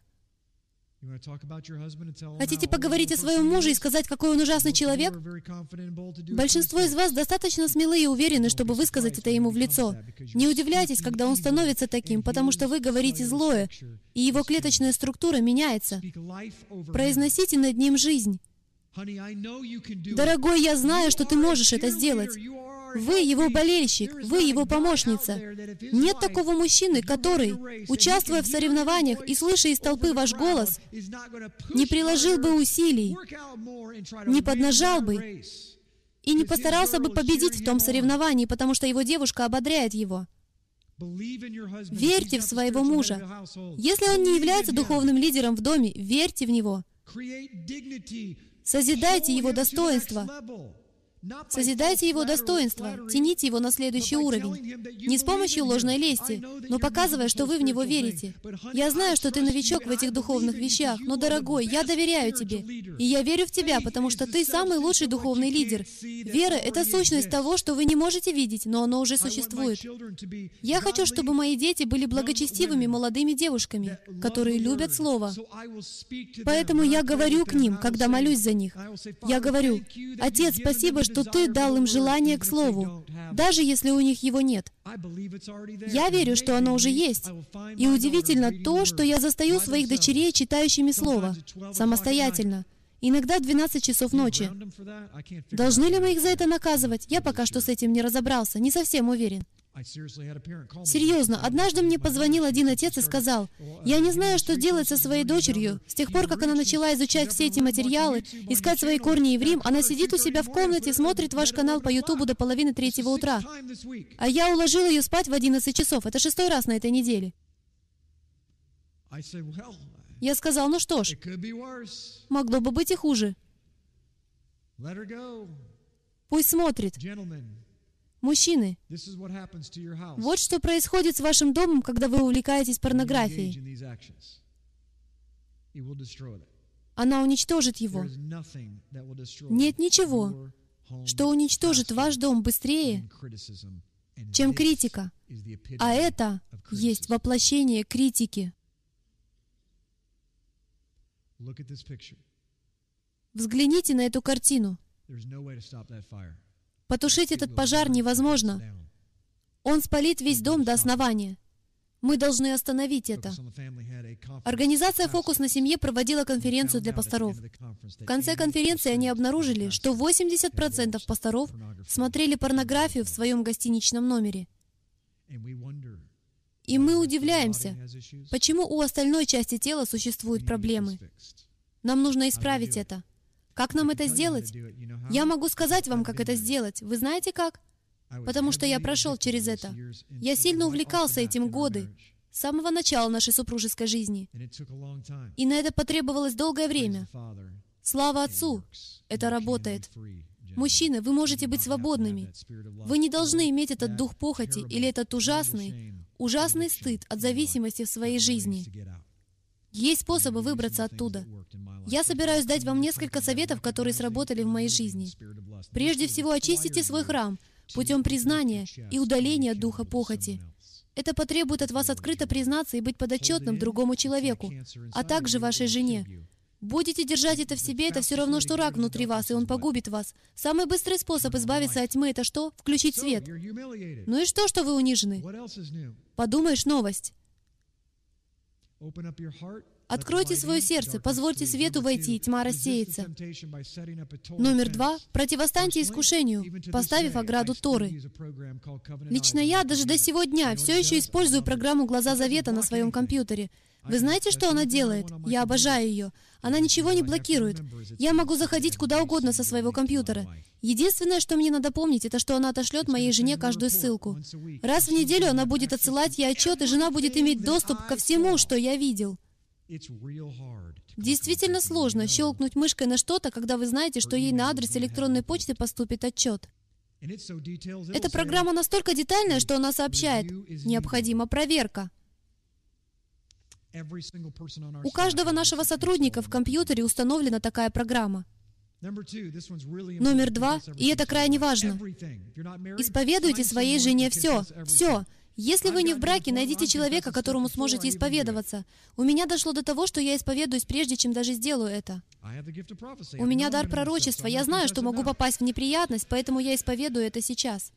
Хотите поговорить о своем муже и сказать, какой он ужасный человек? Большинство из вас достаточно смелы и уверены, чтобы высказать это ему в лицо. Не удивляйтесь, когда он становится таким, потому что вы говорите злое, и его клеточная структура меняется. Произносите над ним жизнь. Дорогой, я знаю, что ты можешь это сделать. Вы его болельщик, вы его помощница. Нет такого мужчины, который, участвуя в соревнованиях и слыша из толпы ваш голос, не приложил бы усилий, не поднажал бы и не постарался бы победить в том соревновании, потому что его девушка ободряет его. Верьте в своего мужа. Если он не является духовным лидером в доме, верьте в него. Созидайте его достоинство. Созидайте его достоинство, тяните его на следующий уровень. Не с помощью ложной лести, но показывая, что вы в него верите. Я знаю, что ты новичок в этих духовных вещах, но, дорогой, я доверяю тебе. И я верю в тебя, потому что ты самый лучший духовный лидер. Вера — это сущность того, что вы не можете видеть, но оно уже существует. Я хочу, чтобы мои дети были благочестивыми молодыми девушками, которые любят Слово. Поэтому я говорю к ним, когда молюсь за них. Я говорю: «Отец, спасибо, что Ты дал им желание к Слову, даже если у них его нет. Я верю, что оно уже есть. И удивительно то, что я застаю своих дочерей читающими Слово, самостоятельно, иногда в двенадцать часов ночи. Должны ли мы их за это наказывать? Я пока что с этим не разобрался, не совсем уверен». Серьезно, однажды мне позвонил один отец и сказал: «Я не знаю, что делать со своей дочерью. С тех пор, как она начала изучать все эти материалы, искать свои корни евреям, она сидит у себя в комнате, смотрит ваш канал по Ютубу до половины третьего утра. А я уложил ее спать в одиннадцать часов. Это шестой раз на этой неделе». Я сказал: «Ну что ж, могло бы быть и хуже. Пусть смотрит». Мужчины, вот что происходит с вашим домом, когда вы увлекаетесь порнографией. Она уничтожит его. Нет ничего, что уничтожит ваш дом быстрее, чем критика. А это есть воплощение критики. Взгляните на эту картину. Потушить этот пожар невозможно. Он спалит весь дом до основания. Мы должны остановить это. Организация «Фокус на семье» проводила конференцию для пасторов. В конце конференции они обнаружили, что восемьдесят процентов пасторов смотрели порнографию в своем гостиничном номере. И мы удивляемся, почему у остальной части тела существуют проблемы. Нам нужно исправить это. Как нам это сделать? Я могу сказать вам, как это сделать. Вы знаете как? Потому что я прошел через это. Я сильно увлекался этим годы, с самого начала нашей супружеской жизни. И на это потребовалось долгое время. Слава Отцу! Это работает. Мужчины, вы можете быть свободными. Вы не должны иметь этот дух похоти или этот ужасный, ужасный стыд от зависимости в своей жизни. Есть способы выбраться оттуда. Я собираюсь дать вам несколько советов, которые сработали в моей жизни. Прежде всего, очистите свой храм путем признания и удаления духа похоти. Это потребует от вас открыто признаться и быть подотчетным другому человеку, а также вашей жене. Будете держать это в себе, это все равно, что рак внутри вас, и он погубит вас. Самый быстрый способ избавиться от тьмы — это что? Включить свет. Ну и что, что вы унижены? Подумаешь, новость. Откройте свое сердце, позвольте свету войти, и тьма рассеется. Номер два. Противостаньте искушению, поставив ограду Торы. Лично я даже до сего дня все еще использую программу «Глаза Завета» на своем компьютере. Вы знаете, что она делает? Я обожаю ее. Она ничего не блокирует. Я могу заходить куда угодно со своего компьютера. Единственное, что мне надо помнить, это что она отошлет моей жене каждую ссылку. Раз в неделю она будет отсылать ей отчет, и жена будет иметь доступ ко всему, что я видел. Действительно сложно щелкнуть мышкой на что-то, когда вы знаете, что ей на адрес электронной почты поступит отчет. Эта программа настолько детальная, что она сообщает: необходима проверка. У каждого нашего сотрудника в компьютере установлена такая программа. Номер два, и это крайне важно. Исповедуйте своей жене все, все. Если вы не в браке, найдите человека, которому сможете исповедоваться. У меня дошло до того, что я исповедуюсь, прежде чем даже сделаю это. У меня дар пророчества. Я знаю, что могу попасть в неприятность, поэтому я исповедую это сейчас.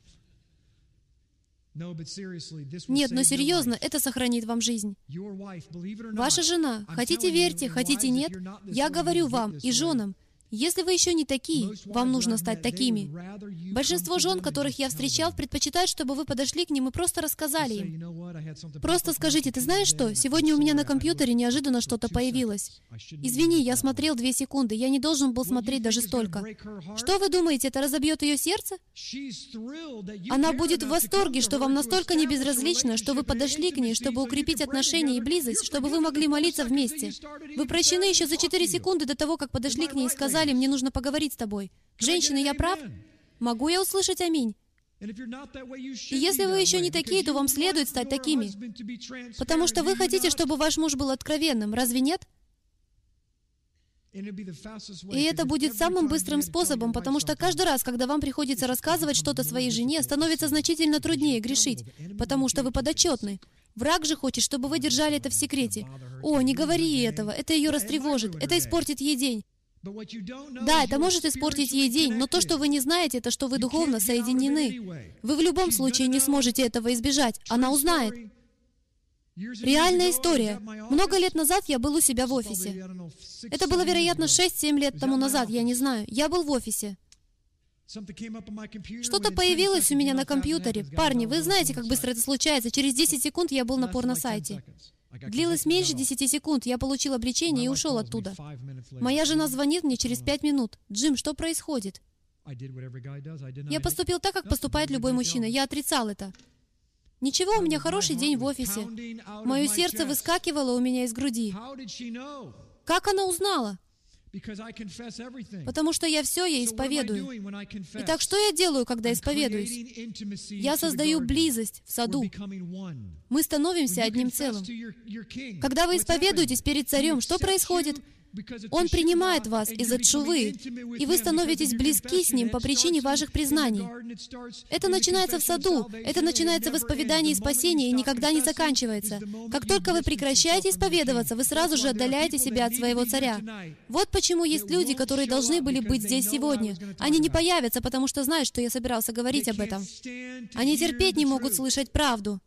Нет, но серьезно, это сохранит вам жизнь. Ваша жена, хотите верьте, хотите нет, я говорю вам и женам, если вы еще не такие, вам нужно стать такими. Большинство жен, которых я встречал, предпочитают, чтобы вы подошли к ним и просто рассказали им. Просто скажите: ты знаешь что, сегодня у меня на компьютере неожиданно что-то появилось. Извини, я смотрел две секунды, я не должен был смотреть даже столько. Что вы думаете, это разобьет ее сердце? Она будет в восторге, что вам настолько не безразлично, что вы подошли к ней, чтобы укрепить отношения и близость, чтобы вы могли молиться вместе. Вы прощены еще за четыре секунды до того, как подошли к ней и сказали: мне нужно поговорить с тобой. Женщины, я прав? Могу я услышать аминь? И если вы еще не такие, то вам следует стать такими, потому что вы хотите, чтобы ваш муж был откровенным, разве нет? И это будет самым быстрым способом, потому что каждый раз, когда вам приходится рассказывать что-то своей жене, становится значительно труднее грешить, потому что вы подотчетны. Враг же хочет, чтобы вы держали это в секрете. О, не говори ей этого, это ее растревожит, это испортит ей день. Да, это может испортить ей день, но то, что вы не знаете, это что вы духовно соединены. Вы в любом случае не сможете этого избежать. Она узнает. Реальная история. Много лет назад я был у себя в офисе. Это было, вероятно, шесть-семь лет тому назад, я не знаю. Я был в офисе. Что-то появилось у меня на компьютере. Парни, вы знаете, как быстро это случается. Через десять секунд я был на порно-сайте. Длилось меньше десяти секунд, я получил обличение и ушел оттуда. Моя жена звонит мне через пять минут. «Джим, что происходит?» Я поступил так, как поступает любой мужчина. Я отрицал это. Ничего, у меня хороший день в офисе. Мое сердце выскакивало у меня из груди. Как она узнала? Потому что я все ей исповедую. Итак, что я делаю, когда исповедуюсь? Я создаю близость в саду. Мы становимся одним целым. Когда вы исповедуетесь перед царем, что происходит? Он принимает вас из-за тшувы, и вы становитесь близки с Ним по причине ваших признаний. Это начинается в саду, это начинается в исповедании спасения и никогда не заканчивается. Как только вы прекращаете исповедоваться, вы сразу же отдаляете себя от своего царя. Вот почему есть люди, которые должны были быть здесь сегодня. Они не появятся, потому что знают, что я собирался говорить об этом. Они терпеть не могут слышать правду.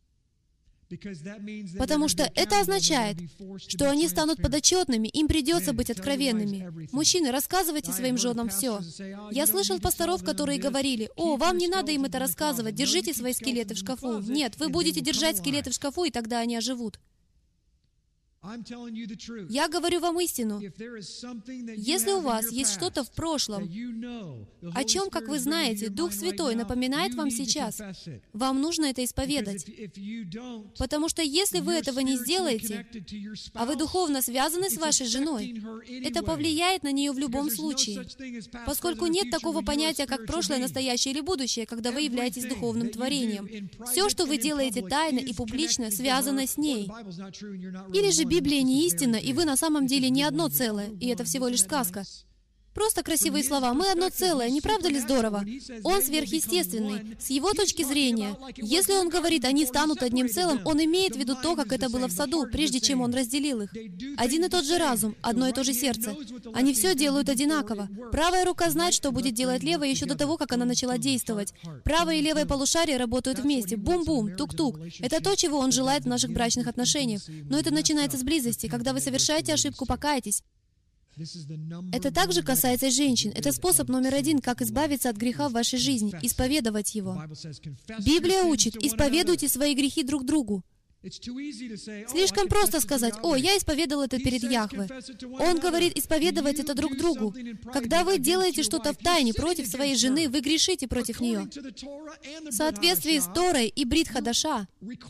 Потому что это означает, что они станут подотчетными, им придется быть откровенными. Мужчины, рассказывайте своим женам все. Я слышал пасторов, которые говорили: «О, вам не надо им это рассказывать, держите свои скелеты в шкафу». Нет, вы будете держать скелеты в шкафу, и тогда они оживут. Я говорю вам истину. Если у вас есть что-то в прошлом, о чем, как вы знаете, Дух Святой напоминает вам сейчас, вам нужно это исповедать. Потому что если вы этого не сделаете, а вы духовно связаны с вашей женой, это повлияет на нее в любом случае. Поскольку нет такого понятия, как прошлое, настоящее или будущее, когда вы являетесь духовным творением. Все, что вы делаете тайно и публично, связано с ней. Или же Библия не истина, и вы на самом деле не одно целое, и это всего лишь сказка. Просто красивые слова. Мы одно целое, не правда ли здорово? Он сверхъестественный. С его точки зрения, если он говорит, они станут одним целым, он имеет в виду то, как это было в саду, прежде чем он разделил их. Один и тот же разум, одно и то же сердце. Они все делают одинаково. Правая рука знает, что будет делать левая еще до того, как она начала действовать. Правое и левое полушарие работают вместе. Бум-бум, тук-тук. Это то, чего он желает в наших брачных отношениях. Но это начинается с близости. Когда вы совершаете ошибку, покайтесь. Это также касается женщин. Это способ номер один, как избавиться от греха в вашей жизни, исповедовать его. Библия учит, исповедуйте свои грехи друг другу. Слишком просто сказать: «О, я исповедовал это перед Яхве». Он говорит исповедовать это друг другу. Когда вы делаете что-то в тайне против своей жены, вы грешите против нее. В соответствии с Торой и Брит Хадаша,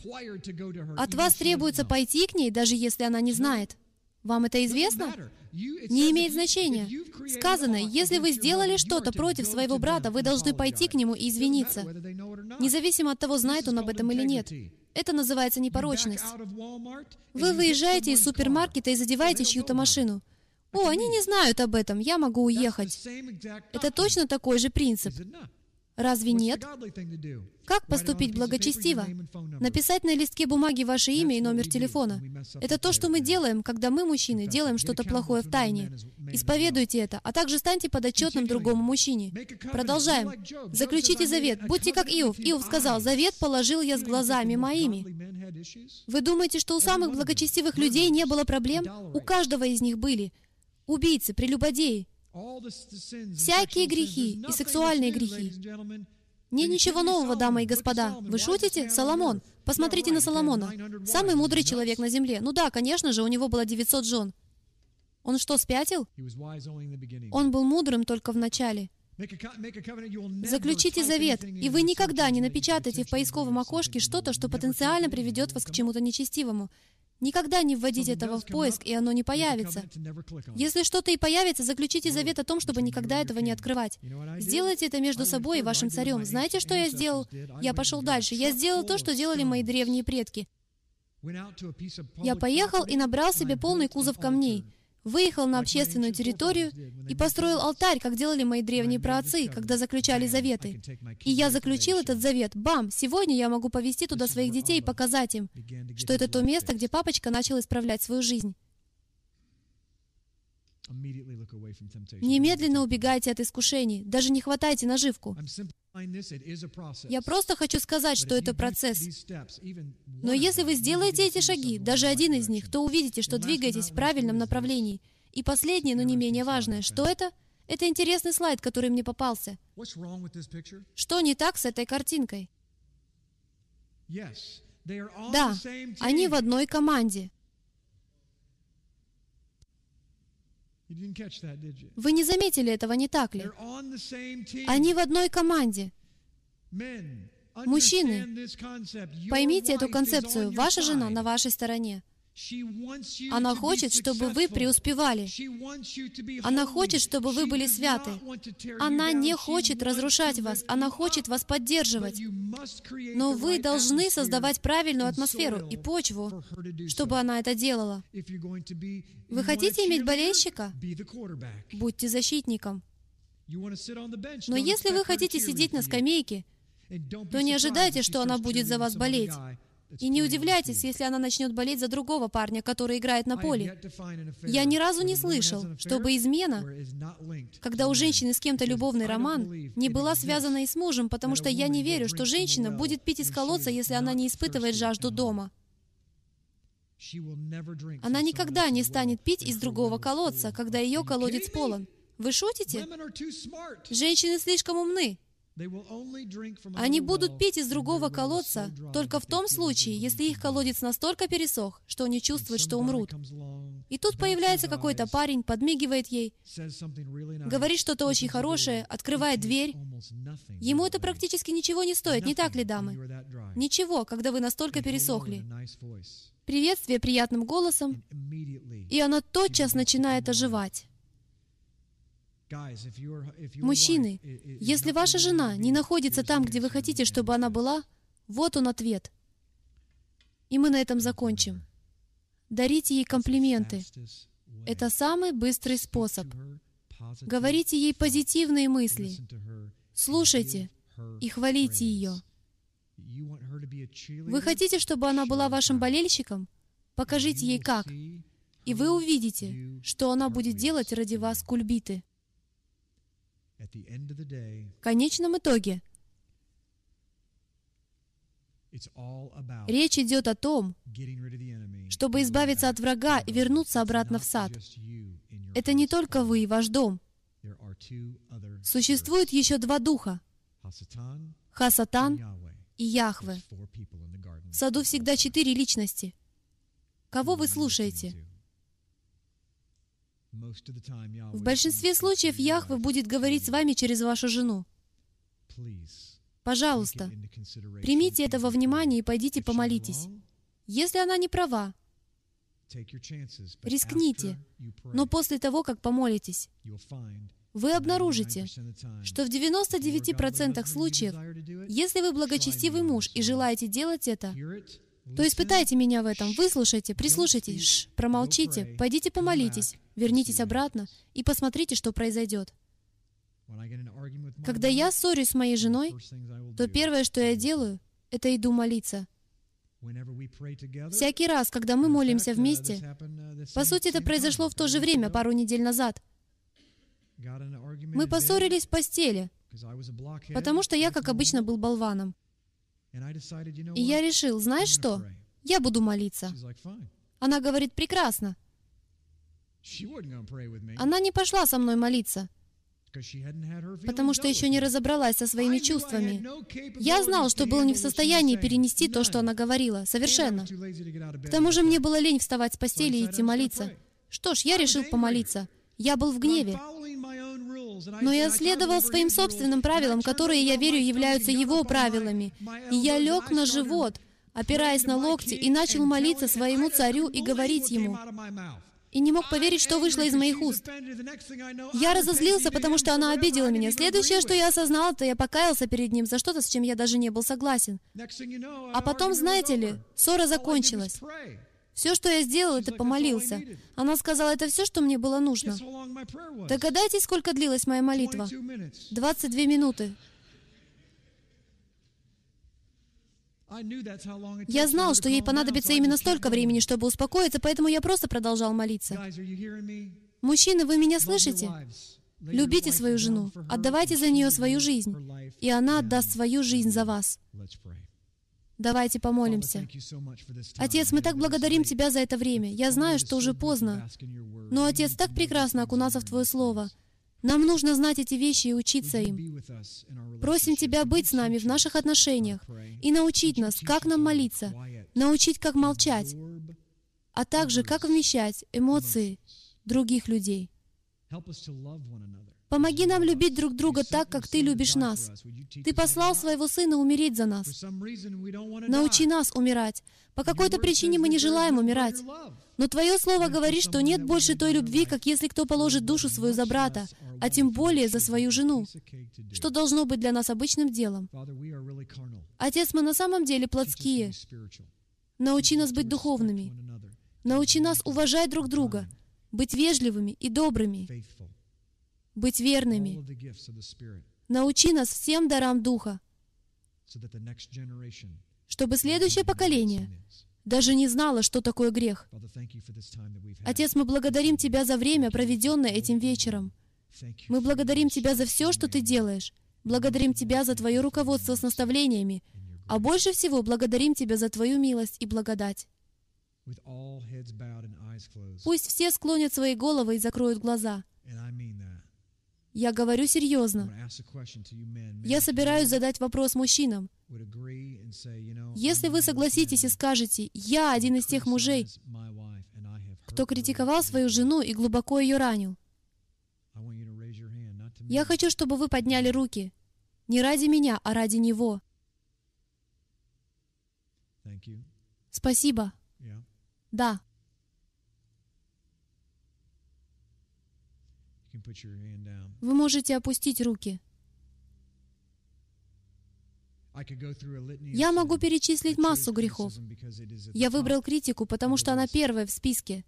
от вас требуется пойти к ней, даже если она не знает. Вам это известно? Не имеет значения. Сказано, если вы сделали что-то против своего брата, вы должны пойти к нему и извиниться, независимо от того, знает он об этом или нет. Это называется непорочность. Вы выезжаете из супермаркета и задеваете чью-то машину. О, они не знают об этом, я могу уехать. Это точно такой же принцип. Разве нет? Как поступить благочестиво? Написать на листке бумаги ваше имя и номер телефона. Это то, что мы делаем, когда мы, мужчины, делаем что-то плохое в тайне. Исповедуйте это, а также станьте подотчетным другому мужчине. Продолжаем. Заключите завет. Будьте как Иов. Иов сказал: «Завет положил я с глазами моими». Вы думаете, что у самых благочестивых людей не было проблем? У каждого из них были. Убийцы, прелюбодеи. Всякие грехи и сексуальные грехи. Нет ничего нового, дамы и господа. Вы шутите? Соломон. Посмотрите на Соломона. Самый мудрый человек на земле. Ну да, конечно же, у него было девятьсот жен. Он что, спятил? Он был мудрым только в начале. Заключите завет, и вы никогда не напечатаете в поисковом окошке что-то, что потенциально приведет вас к чему-то нечестивому. Никогда не вводите этого в поиск, и оно не появится. Если что-то и появится, заключите завет о том, чтобы никогда этого не открывать. Сделайте это между собой и вашим царем. Знаете, что я сделал? Я пошел дальше. Я сделал то, что делали мои древние предки. Я поехал и набрал себе полный кузов камней, выехал на общественную территорию и построил алтарь, как делали мои древние праотцы, когда заключали заветы. И я заключил этот завет. Бам! Сегодня я могу повести туда своих детей и показать им, что это то место, где папочка начал исправлять свою жизнь. Немедленно убегайте от искушений, даже не хватайте наживку. Я просто хочу сказать, что это процесс. Но если вы сделаете эти шаги, даже один из них, то увидите, что двигаетесь в правильном направлении. И последнее, но не менее важное, что это? Это интересный слайд, который мне попался. Что не так с этой картинкой? Да, они в одной команде. Вы не заметили этого, не так ли? Они в одной команде. Мужчины, поймите эту концепцию. Ваша жена на вашей стороне. Она хочет, чтобы вы преуспевали. Она хочет, чтобы вы были святы. Она не хочет разрушать вас. Она хочет вас поддерживать. Но вы должны создавать правильную атмосферу и почву, чтобы она это делала. Вы хотите иметь болельщика? Будьте защитником. Но если вы хотите сидеть на скамейке, то не ожидайте, что она будет за вас болеть. И не удивляйтесь, если она начнет болеть за другого парня, который играет на поле. Я ни разу не слышал, чтобы измена, когда у женщины с кем-то любовный роман, не была связана и с мужем, потому что я не верю, что женщина будет пить из колодца, если она не испытывает жажду дома. Она никогда не станет пить из другого колодца, когда ее колодец полон. Вы шутите? Женщины слишком умны. Они будут пить из другого колодца только в том случае, если их колодец настолько пересох, что они чувствуют, что умрут. И тут появляется какой-то парень, подмигивает ей, говорит что-то очень хорошее, открывает дверь. Ему это практически ничего не стоит, не так ли, дамы? Ничего, когда вы настолько пересохли. Приветствие приятным голосом, и она тотчас начинает оживать. Мужчины, если ваша жена не находится там, где вы хотите, чтобы она была, вот он ответ. И мы на этом закончим. Дарите ей комплименты. Это самый быстрый способ. Говорите ей позитивные мысли. Слушайте и хвалите ее. Вы хотите, чтобы она была вашим болельщиком? Покажите ей как. И вы увидите, что она будет делать ради вас кульбиты. В конечном итоге, речь идет о том, чтобы избавиться от врага и вернуться обратно в сад. Это не только вы и ваш дом. Существует еще два духа — Хасатан и Яхве. В саду всегда четыре личности. Кого вы слушаете? В большинстве случаев Яхве будет говорить с вами через вашу жену. Пожалуйста, примите это во внимание и пойдите помолитесь. Если она не права, рискните, но после того, как помолитесь, вы обнаружите, что в девяноста девяти процентах случаев, если вы благочестивый муж и желаете делать это, то испытайте меня в этом, выслушайте, прислушайтесь, шш, промолчите, пойдите помолитесь, вернитесь обратно и посмотрите, что произойдет. Когда я ссорюсь с моей женой, то первое, что я делаю, это иду молиться. Всякий раз, когда мы молимся вместе, по сути, это произошло в то же время, пару недель назад, мы поссорились в постели, потому что я, как обычно, был болваном. И я решил, знаешь что? Я буду молиться. Она говорит, прекрасно. Она не пошла со мной молиться, потому что еще не разобралась со своими чувствами. Я знал, что был не в состоянии перенести то, что она говорила. Совершенно. К тому же мне было лень вставать с постели и идти молиться. Что ж, я решил помолиться. Я был в гневе. Но я следовал своим собственным правилам, которые, я верю, являются его правилами. И я лег на живот, опираясь на локти, и начал молиться своему царю и говорить ему, и не мог поверить, что вышло из моих уст. Я разозлился, потому что она обидела меня. Следующее, что я осознал, это я покаялся перед ним за что-то, с чем я даже не был согласен. А потом, знаете ли, ссора закончилась. Все, что я сделал, это помолился. Она сказала, это все, что мне было нужно. Догадайтесь, сколько длилась моя молитва? двадцать две минуты. Я знал, что ей понадобится именно столько времени, чтобы успокоиться, поэтому я просто продолжал молиться. Мужчины, вы меня слышите? Любите свою жену, отдавайте за нее свою жизнь, и она отдаст свою жизнь за вас. Давайте помолимся. Отец, мы так благодарим Тебя за это время. Я знаю, что уже поздно, но, Отец, так прекрасно окунаться в Твое Слово. Нам нужно знать эти вещи и учиться им. Просим Тебя быть с нами в наших отношениях и научить нас, как нам молиться, научить, как молчать, а также, как вмещать эмоции других людей. Помоги нам любить друг друга так, как Ты любишь нас. Ты послал Своего Сына умереть за нас. Научи нас умирать. По какой-то причине мы не желаем умирать. Но Твое Слово говорит, что нет больше той любви, как если кто положит душу свою за брата, а тем более за свою жену, что должно быть для нас обычным делом. Отец, мы на самом деле плотские. Научи нас быть духовными. Научи нас уважать друг друга, быть вежливыми и добрыми, быть верными. Научи нас всем дарам Духа, чтобы следующее поколение даже не знало, что такое грех. Отец, мы благодарим Тебя за время, проведенное этим вечером. Мы благодарим Тебя за все, что Ты делаешь. Благодарим Тебя за Твое руководство с наставлениями. А больше всего благодарим Тебя за Твою милость и благодать. Пусть все склонят свои головы и закроют глаза. Я говорю серьезно. Я собираюсь задать вопрос мужчинам. Если вы согласитесь и скажете, «Я один из тех мужей, кто критиковал свою жену и глубоко ее ранил», я хочу, чтобы вы подняли руки. Не ради меня, а ради него. Спасибо. Да. Вы можете опустить руки. Я могу перечислить массу грехов. Я выбрал критику, потому что она первая в списке.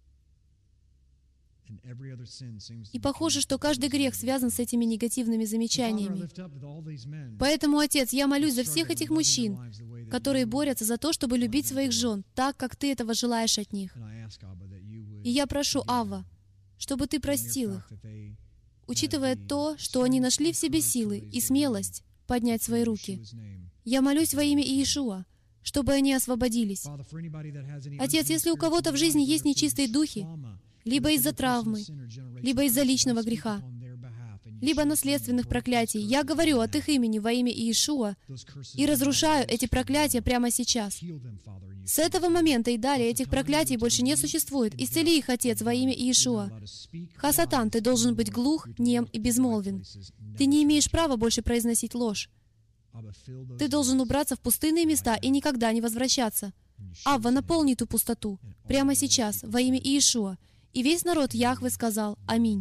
И похоже, что каждый грех связан с этими негативными замечаниями. Поэтому, Отец, я молюсь за всех этих мужчин, которые борются за то, чтобы любить своих жен так, как Ты этого желаешь от них. И я прошу, Авва, чтобы Ты простил их, учитывая то, что они нашли в себе силы и смелость поднять свои руки. Я молюсь во имя Иешуа, чтобы они освободились. Отец, если у кого-то в жизни есть нечистые духи, либо из-за травмы, либо из-за личного греха, либо наследственных проклятий, я говорю от их имени во имя Иешуа и разрушаю эти проклятия прямо сейчас. С этого момента и далее этих проклятий больше не существует. Исцели их, Отец, во имя Иешуа. Хасатан, ты должен быть глух, нем и безмолвен. Ты не имеешь права больше произносить ложь. Ты должен убраться в пустынные места и никогда не возвращаться. Авва, наполни ту пустоту прямо сейчас во имя Иешуа. И весь народ Яхве сказал «Аминь».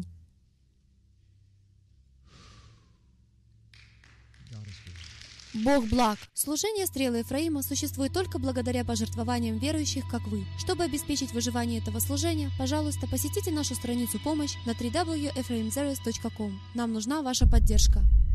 Бог благ. Служение Стрелы Ефраима существует только благодаря пожертвованиям верующих, как вы. Чтобы обеспечить выживание этого служения, пожалуйста, посетите нашу страницу «Помощь» на дабл ю дабл ю дабл ю точка эфраимзервис точка ком. Нам нужна ваша поддержка.